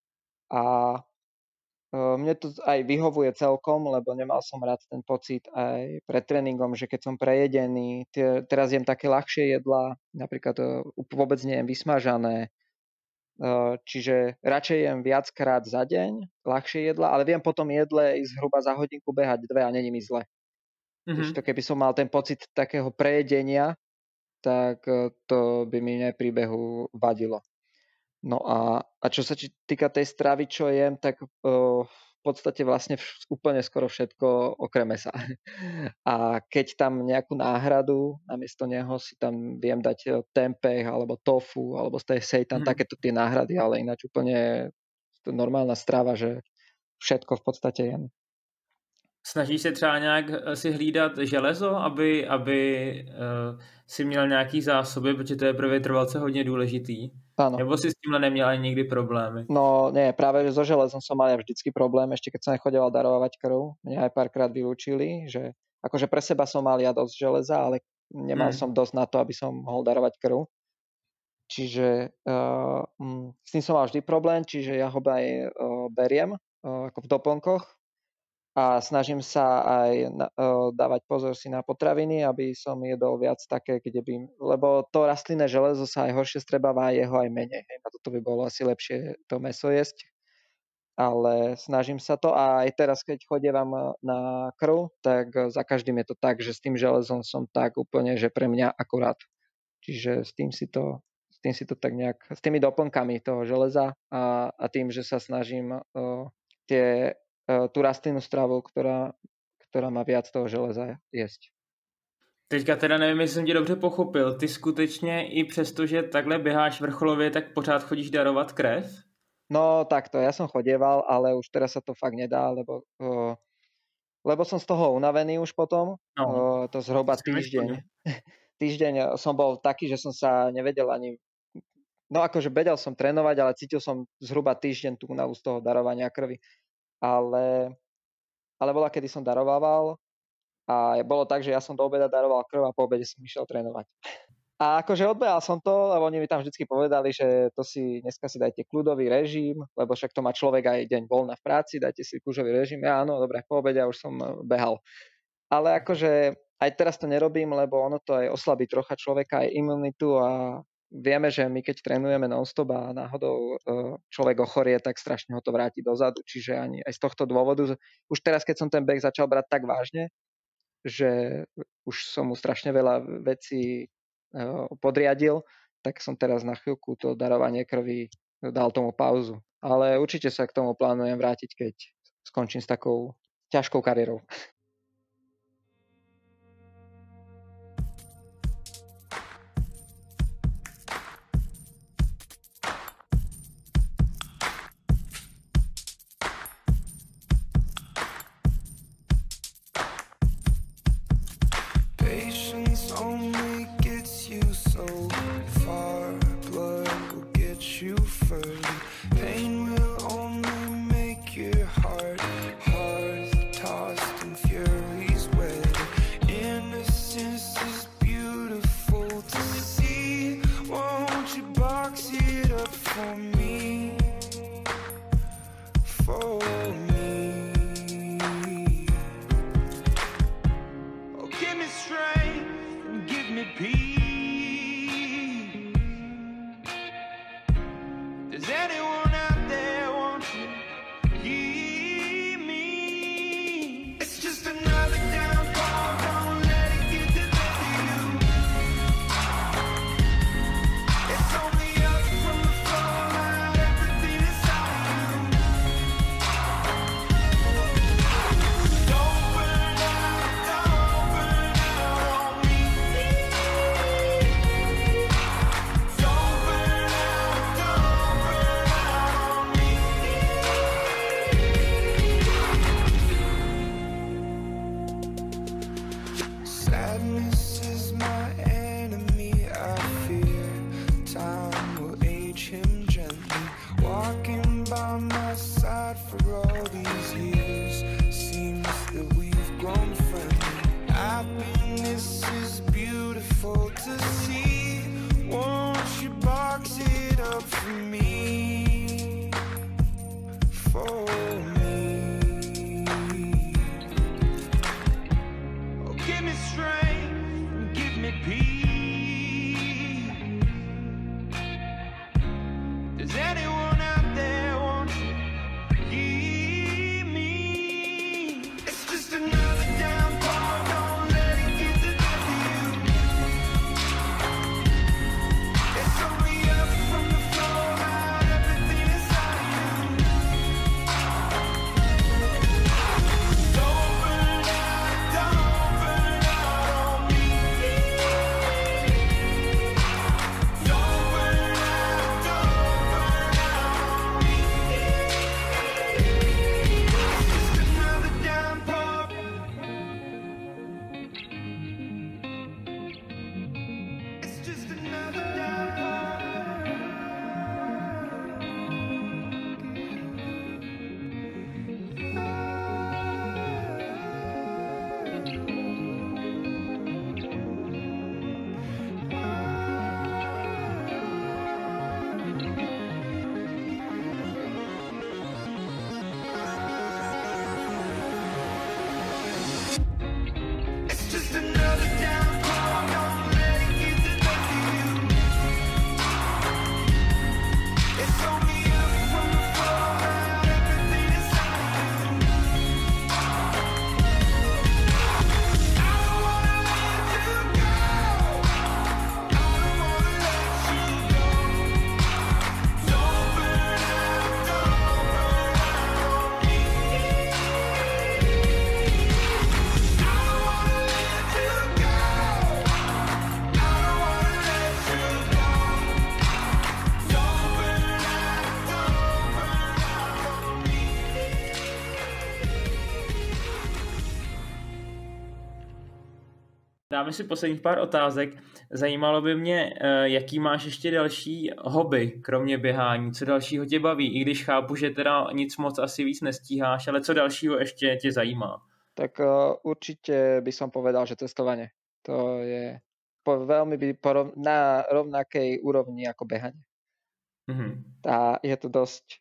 A mne to aj vyhovuje celkom, lebo nemal som rád ten pocit aj pred tréningom, že keď som prejedený, tie, teraz jem také ľahšie jedlá, napríklad vôbec nejem vysmažané, čiže radšej jem viackrát za deň ľahšie jedlá, ale viem potom jedle ísť zhruba za hodinku behať dve a není mi zle. Mm-hmm. To keby som mal ten pocit takého prejedenia, tak to by mi aj pri behu vadilo. No a, a čo sa týka tej stravy, čo jem, tak uh, v podstate vlastne vš- úplne skoro všetko okrem mäsa. A keď tam nejakú náhradu, namiesto neho si tam viem dať tempeh, alebo tofu, alebo z tej seitan, mm. takéto tie náhrady, ale ináč úplne to normálna strava, že všetko v podstate jem. Snažíš se třeba nějak si hlídat železo, aby, aby uh, si měl nějaký zásoby, protože to je pro vytrvalce hodně důležitý? Áno. Nebo si s týmhle neměl ani nikdy problémy? No nie, práve so železom som mal ja vždycky problém, ešte keď som nechodil darovať krv. Mňa aj párkrát vylúčili, že akože pre seba som mal ja dosť železa, ale nemal hmm. som dosť na to, aby som mohol darovať krv. Čiže uh, s tým som mal vždy problém, čiže ja ho aj uh, beriem uh, ako v doplnkoch a snažím sa aj na, uh, dávať pozor si na potraviny, aby som jedol viac také, kde by, lebo to rastlinné železo sa aj horšie strebáva a jeho aj menej. Hej, na toto by bolo asi lepšie to mäso jesť, ale snažím sa to a aj teraz, keď chodievam na krv, tak za každým je to tak, že s tým železom som tak úplne, že pre mňa akurát. Čiže s tým si to, s tým si to tak nejak, s tými doplnkami toho železa a, a tým, že sa snažím uh, tie tú rastlinnú stravu, ktorá, ktorá má viac toho železa jesť. Teďka teda nevím, jestli jsem tě dobře pochopil. Ty skutečně i přesto, že takhle běháš vrcholově, tak pořád chodíš darovat krev? No takto, ja som chodieval, ale už teraz sa to fakt nedá, lebo, uh, lebo som z toho unavený už potom. No. Uh, to zhruba týždeň. Týždeň som bol taký, že som sa nevedel ani... No akože vedel som trénovať, ale cítil som zhruba týždeň tú únavu z toho darovania krvi. Ale, ale bola, kedy som darovával a bolo tak, že ja som do obeda daroval krv a po obede som išiel trénovať. A akože odbehal som to, lebo oni mi tam vždycky povedali, že to si dneska si dajte kľudový režim, lebo však to má človek aj deň voľna v práci, dajte si kľudový režim. Ja áno, dobre, po obede už som behal. Ale akože aj teraz to nerobím, lebo ono to aj oslabí trocha človeka, aj imunitu a vieme, že my keď trénujeme non-stop a náhodou človek ochorie, tak strašne ho to vráti dozadu. Čiže ani aj z tohto dôvodu, už teraz, keď som ten beh začal brať tak vážne, že už som mu strašne veľa vecí podriadil, tak som teraz na chvíľku to darovanie krvi dal tomu pauzu. Ale určite sa k tomu plánujem vrátiť, keď skončím s takou ťažkou kariérou. Dáme si posledních pár otázek. Zajímalo by mě, jaký máš ještě další hobby, kromě běhání, co dalšího tě baví, i když chápu, že teda nic moc asi víc nestíháš, ale co dalšího ještě tě zajímá? Tak určite by som povedal, že cestovanie. To je po, veľmi by porov, na rovnakej úrovni ako behanie. Mm-hmm. Tá, je to dosť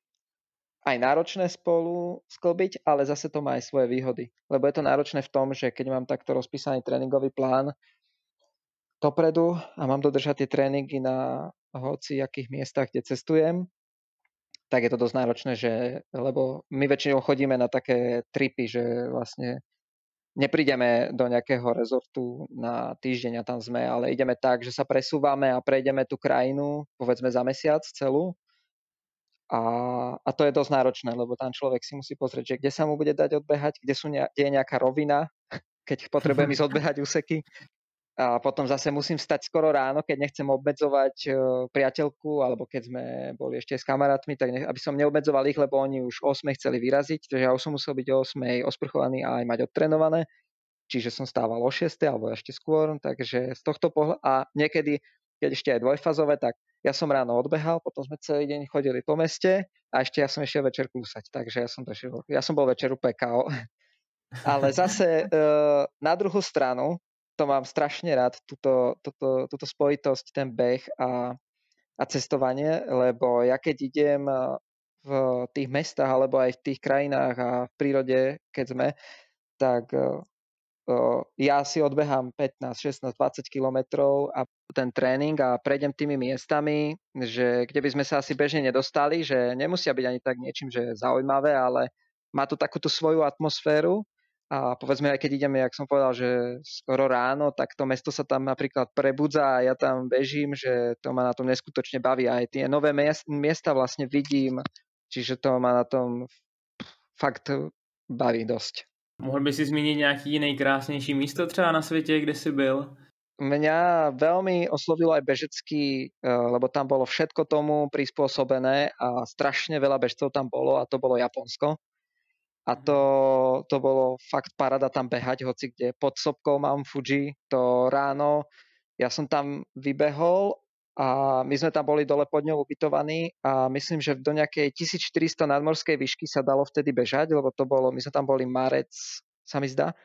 aj náročné spolu sklbiť, ale zase to má aj svoje výhody. Lebo je to náročné v tom, že keď mám takto rozpísaný tréningový plán, dopredu a mám dodržať tie tréningy na hoci akých miestach, kde cestujem, tak je to dosť náročné, že, lebo my väčšinou chodíme na také tripy, že vlastne neprídeme do nejakého rezortu na týždeň a tam sme, ale ideme tak, že sa presúvame a prejdeme tú krajinu, povedzme za mesiac celú. A, a to je dosť náročné, lebo tam človek si musí pozrieť, že kde sa mu bude dať odbehať, kde, sú ne, kde je nejaká rovina, keď potrebujem ísť odbehať úseky. A potom zase musím vstať skoro ráno, keď nechcem obmedzovať priateľku, alebo keď sme boli ešte s kamarátmi, tak nech, aby som neobmedzoval ich, lebo oni už o osmej chceli vyraziť, takže ja už som musel byť o osmej osprchovaný a aj mať odtrenované. Čiže som stával o šiestej alebo ešte skôr, takže z tohto pohľadu, a niekedy, keď ešte aj dvojfazové, tak ja som ráno odbehal, potom sme celý deň chodili po meste a ešte ja som ešte večer kúsať, takže ja som, došiel, ja som bol večer úplne ká ó. Ale zase na druhú stranu, to mám strašne rád, túto, túto, túto spojitosť, ten beh a, a cestovanie, lebo ja keď idem v tých mestách alebo aj v tých krajinách a v prírode, keď sme, tak ja si odbehám pätnásť, šestnásť, dvadsať kilometrov a ten tréning a prejdem tými miestami, že kde by sme sa asi bežne nedostali, že nemusia byť ani tak niečím, že zaujímavé, ale má to takúto svoju atmosféru a povedzme aj keď ideme, jak som povedal, že skoro ráno, tak to mesto sa tam napríklad prebudza a ja tam bežím, že to ma na tom neskutočne baví a aj tie nové miesta vlastne vidím, čiže to ma na tom fakt baví dosť. Mohl by si zmínit nějaký nejkrásnější místo třeba na světě, kde jsi byl? Mňa veľmi oslovilo aj bežecký, lebo tam bolo všetko tomu prispôsobené a strašne veľa bežcov tam bolo a to bolo Japonsko. A to, to bolo fakt paráda tam behať, hoci kde pod sopkou mám Fuji, to ráno. Ja som tam vybehol a my sme tam boli dole pod ňou ubytovaní a myslím, že do nejakej tisícštyristo nadmorskej výšky sa dalo vtedy bežať, lebo to bolo, my sme tam boli marec, sa mi zdá.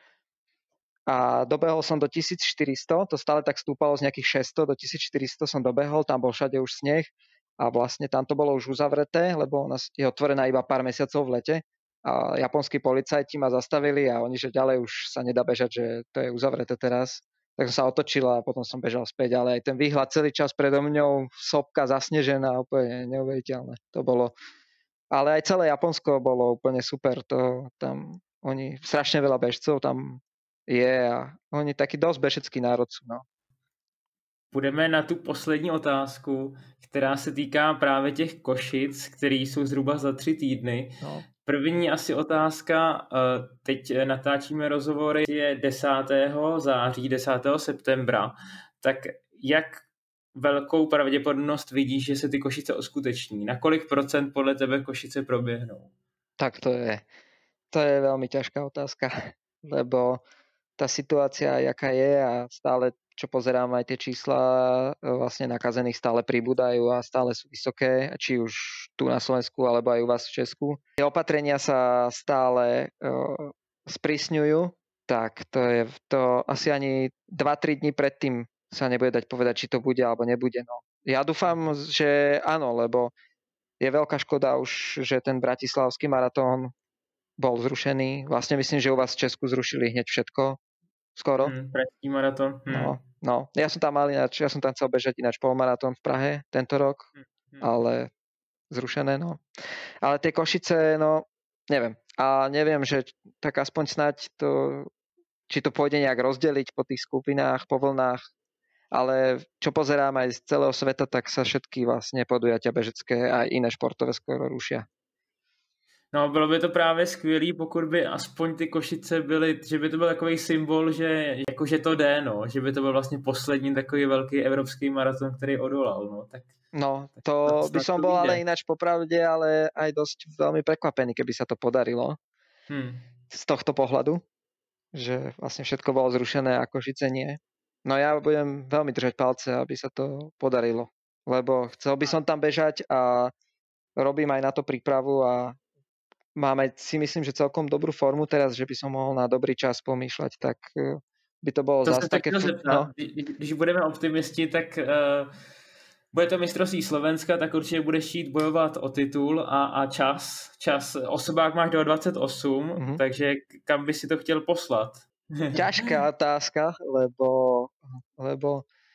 A dobehol som do tisícštyristo, to stále tak stúpalo z nejakých šesťsto do tisícštyristo som dobehol, tam bol všade už sneh a vlastne tam to bolo už uzavreté, lebo ona je otvorená iba pár mesiacov v lete a japonskí policajti ma zastavili a oni, že ďalej už sa nedá bežať, že to je uzavreté teraz. Tak som sa otočil a potom som bežal späť, ale aj ten výhľad celý čas predo mňou, sopka zasnežená, úplne neuveriteľné. To bolo, ale aj celé Japonsko bolo úplne super, to tam, oni, strašne veľa bežcov tam je a oni taký dosť bežecký národ sú, no. Půjdeme na tu poslední otázku, která se týká právě těch Košic, které jsou zhruba za tři týdny. No. První asi otázka, teď natáčíme rozhovory, je desátého září, desátého septembra, tak jak velkou pravděpodobnost vidíš, že se ty Košice uskuteční? Na kolik procent podle tebe Košice proběhnou? Tak to je, to je veľmi ťažká otázka, lebo tá situácia, jaká je a stále, čo pozerám aj tie čísla vlastne nakazených stále pribúdajú a stále sú vysoké, či už tu na Slovensku alebo aj u vás v Česku. Tie opatrenia sa stále uh, sprísňujú, tak to je to asi ani dva tri dní predtým sa nebude dať povedať, či to bude alebo nebude. No. Ja dúfam, že áno, lebo je veľká škoda už, že ten bratislavský maratón bol zrušený. Vlastne myslím, že u vás v Česku zrušili hneď všetko. Skoro. Hmm, pražský maratón. Hmm. No, no. Ja som tam mal ináč, ja som tam chcel bežať ináč polmaratón v Prahe tento rok, hmm. ale zrušené, no. Ale tie Košice, no, neviem. A neviem, že tak aspoň snáď to, či to pôjde nejak rozdeliť po tých skupinách, po vlnách, ale čo pozerám aj z celého sveta, tak sa všetky vlastne podujatia bežecké a iné športové skoro rušia. No, bylo by to právě skvělý, pokud by aspoň ty Košice byly, že by to byl takový symbol, že jakože to jde, no, že by to byl vlastně poslední takový velký evropský maraton, který odolal, no, tak... No, to by som bol ale ináč popravde, ale aj dosť veľmi prekvapený, keby sa to podarilo hmm. z tohto pohľadu, že vlastne všetko bolo zrušené a Košice nie. No ja budem veľmi držať palce, aby sa to podarilo, lebo chcel by som tam bežať a robím aj na to prípravu a máme, si myslím, že celkom dobrú formu teraz, že by som mohol na dobrý čas pomýšľať, tak by to bolo to zase také... No. Když budeme optimisti, tak uh, bude to mistrovství Slovenska, tak určitě budeš jít bojovat o titul a, a čas. Čas. Osobák máš do dvacet osm, mm-hmm. takže kam by si to chtěl poslat? Ťažká otázka, lebo, lebo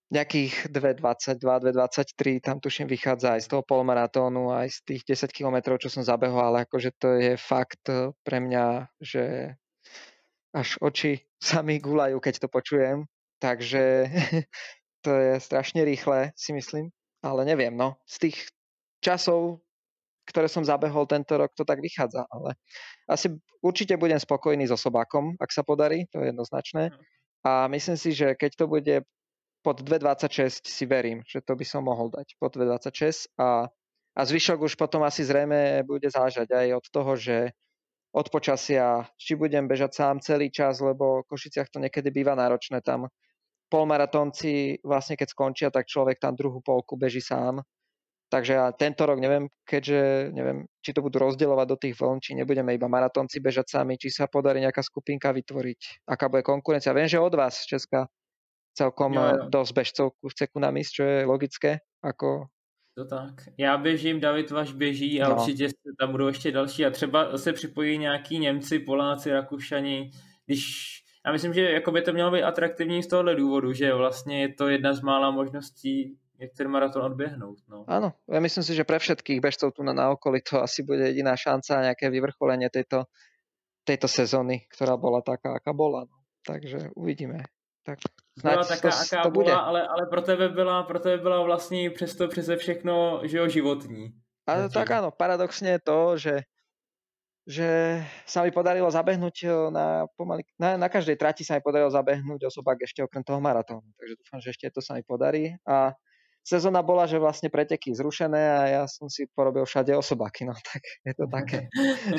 nejakých dva dvadsaťdva, dva dvadsaťtri, tam tuším vychádza aj z toho polmaratónu, aj z tých desať kilometrov, čo som zabehol, ale akože to je fakt pre mňa, že až oči sa mi gulajú, keď to počujem. Takže to je strašne rýchle, si myslím. Ale neviem, no. Z tých časov, ktoré som zabehol tento rok, to tak vychádza. Ale asi určite budem spokojný so Sobákom, ak sa podarí, to je jednoznačné. A myslím si, že keď to bude pod dva dvadsaťšesť, si verím, že to by som mohol dať pod dva dvadsaťšesť. A, a zvyšok už potom asi zrejme bude záležať aj od toho, že od počasia, či budem bežať sám celý čas, lebo v Košiciach to niekedy býva náročné. Tam polmaratónci vlastne keď skončia, tak človek tam druhú polku beží sám. Takže ja tento rok neviem, keďže neviem, či to budú rozdielovať do tých vln, či nebudeme iba maratónci bežať sami, či sa podarí nejaká skupinka vytvoriť, aká bude konkurencia. Viem, že od vás z Česka celkom Jo, jo. dosť bežcov chce ku nám ísť, čo je logické. Ako... To tak. Já běžím, David Vaš běží a No. určitě tam budou ještě další a třeba se připojí nějaký Němci, Poláci, Rakušani, když já myslím, že jako by to mělo být atraktivní z tohohle důvodu, že vlastně je to jedna z mála možností, jak ten maraton odběhnout. No. Áno, ja myslím si, že pre všetkých bežcov tu na, na okolí to asi bude jediná šanca, nejaké vyvrcholenie tejto, tejto sezóny, ktorá bola taká, aká bola. No. Takže uvidíme. Tak Byla snáď taká, to, aká to bude. byla, ale, ale pro tebe byla, pro tebe byla vlastně přesto přeze všechno, že jo, životní. Ale Zatím. tak áno, paradoxne je to, že, že sa mi podarilo zabehnúť na, pomaly, na, na každej trati sa mi podarilo zabehnúť osobák ešte okrem toho maratónu. Takže dúfam, že ešte to sa mi podarí. A sezóna bola, že vlastne preteky zrušené a ja som si porobil všade osobáky, no tak je to také.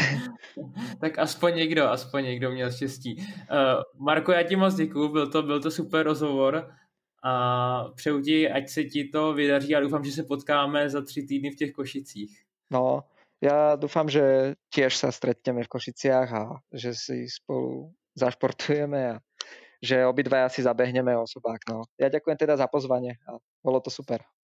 Tak aspoň někdo, aspoň někdo měl štěstí. Uh, Marko, já ti moc děkuju, byl to, byl to super rozhovor a přeju ti, ať se ti to vydaří a doufám, že se potkáme za tři týdny v těch Košicích. No, ja dúfam, že tiež sa stretneme v Košiciach a že si spolu zašportujeme a že obidvaja si zabehneme osobák. No. Ja ďakujem teda za pozvanie a bolo to super.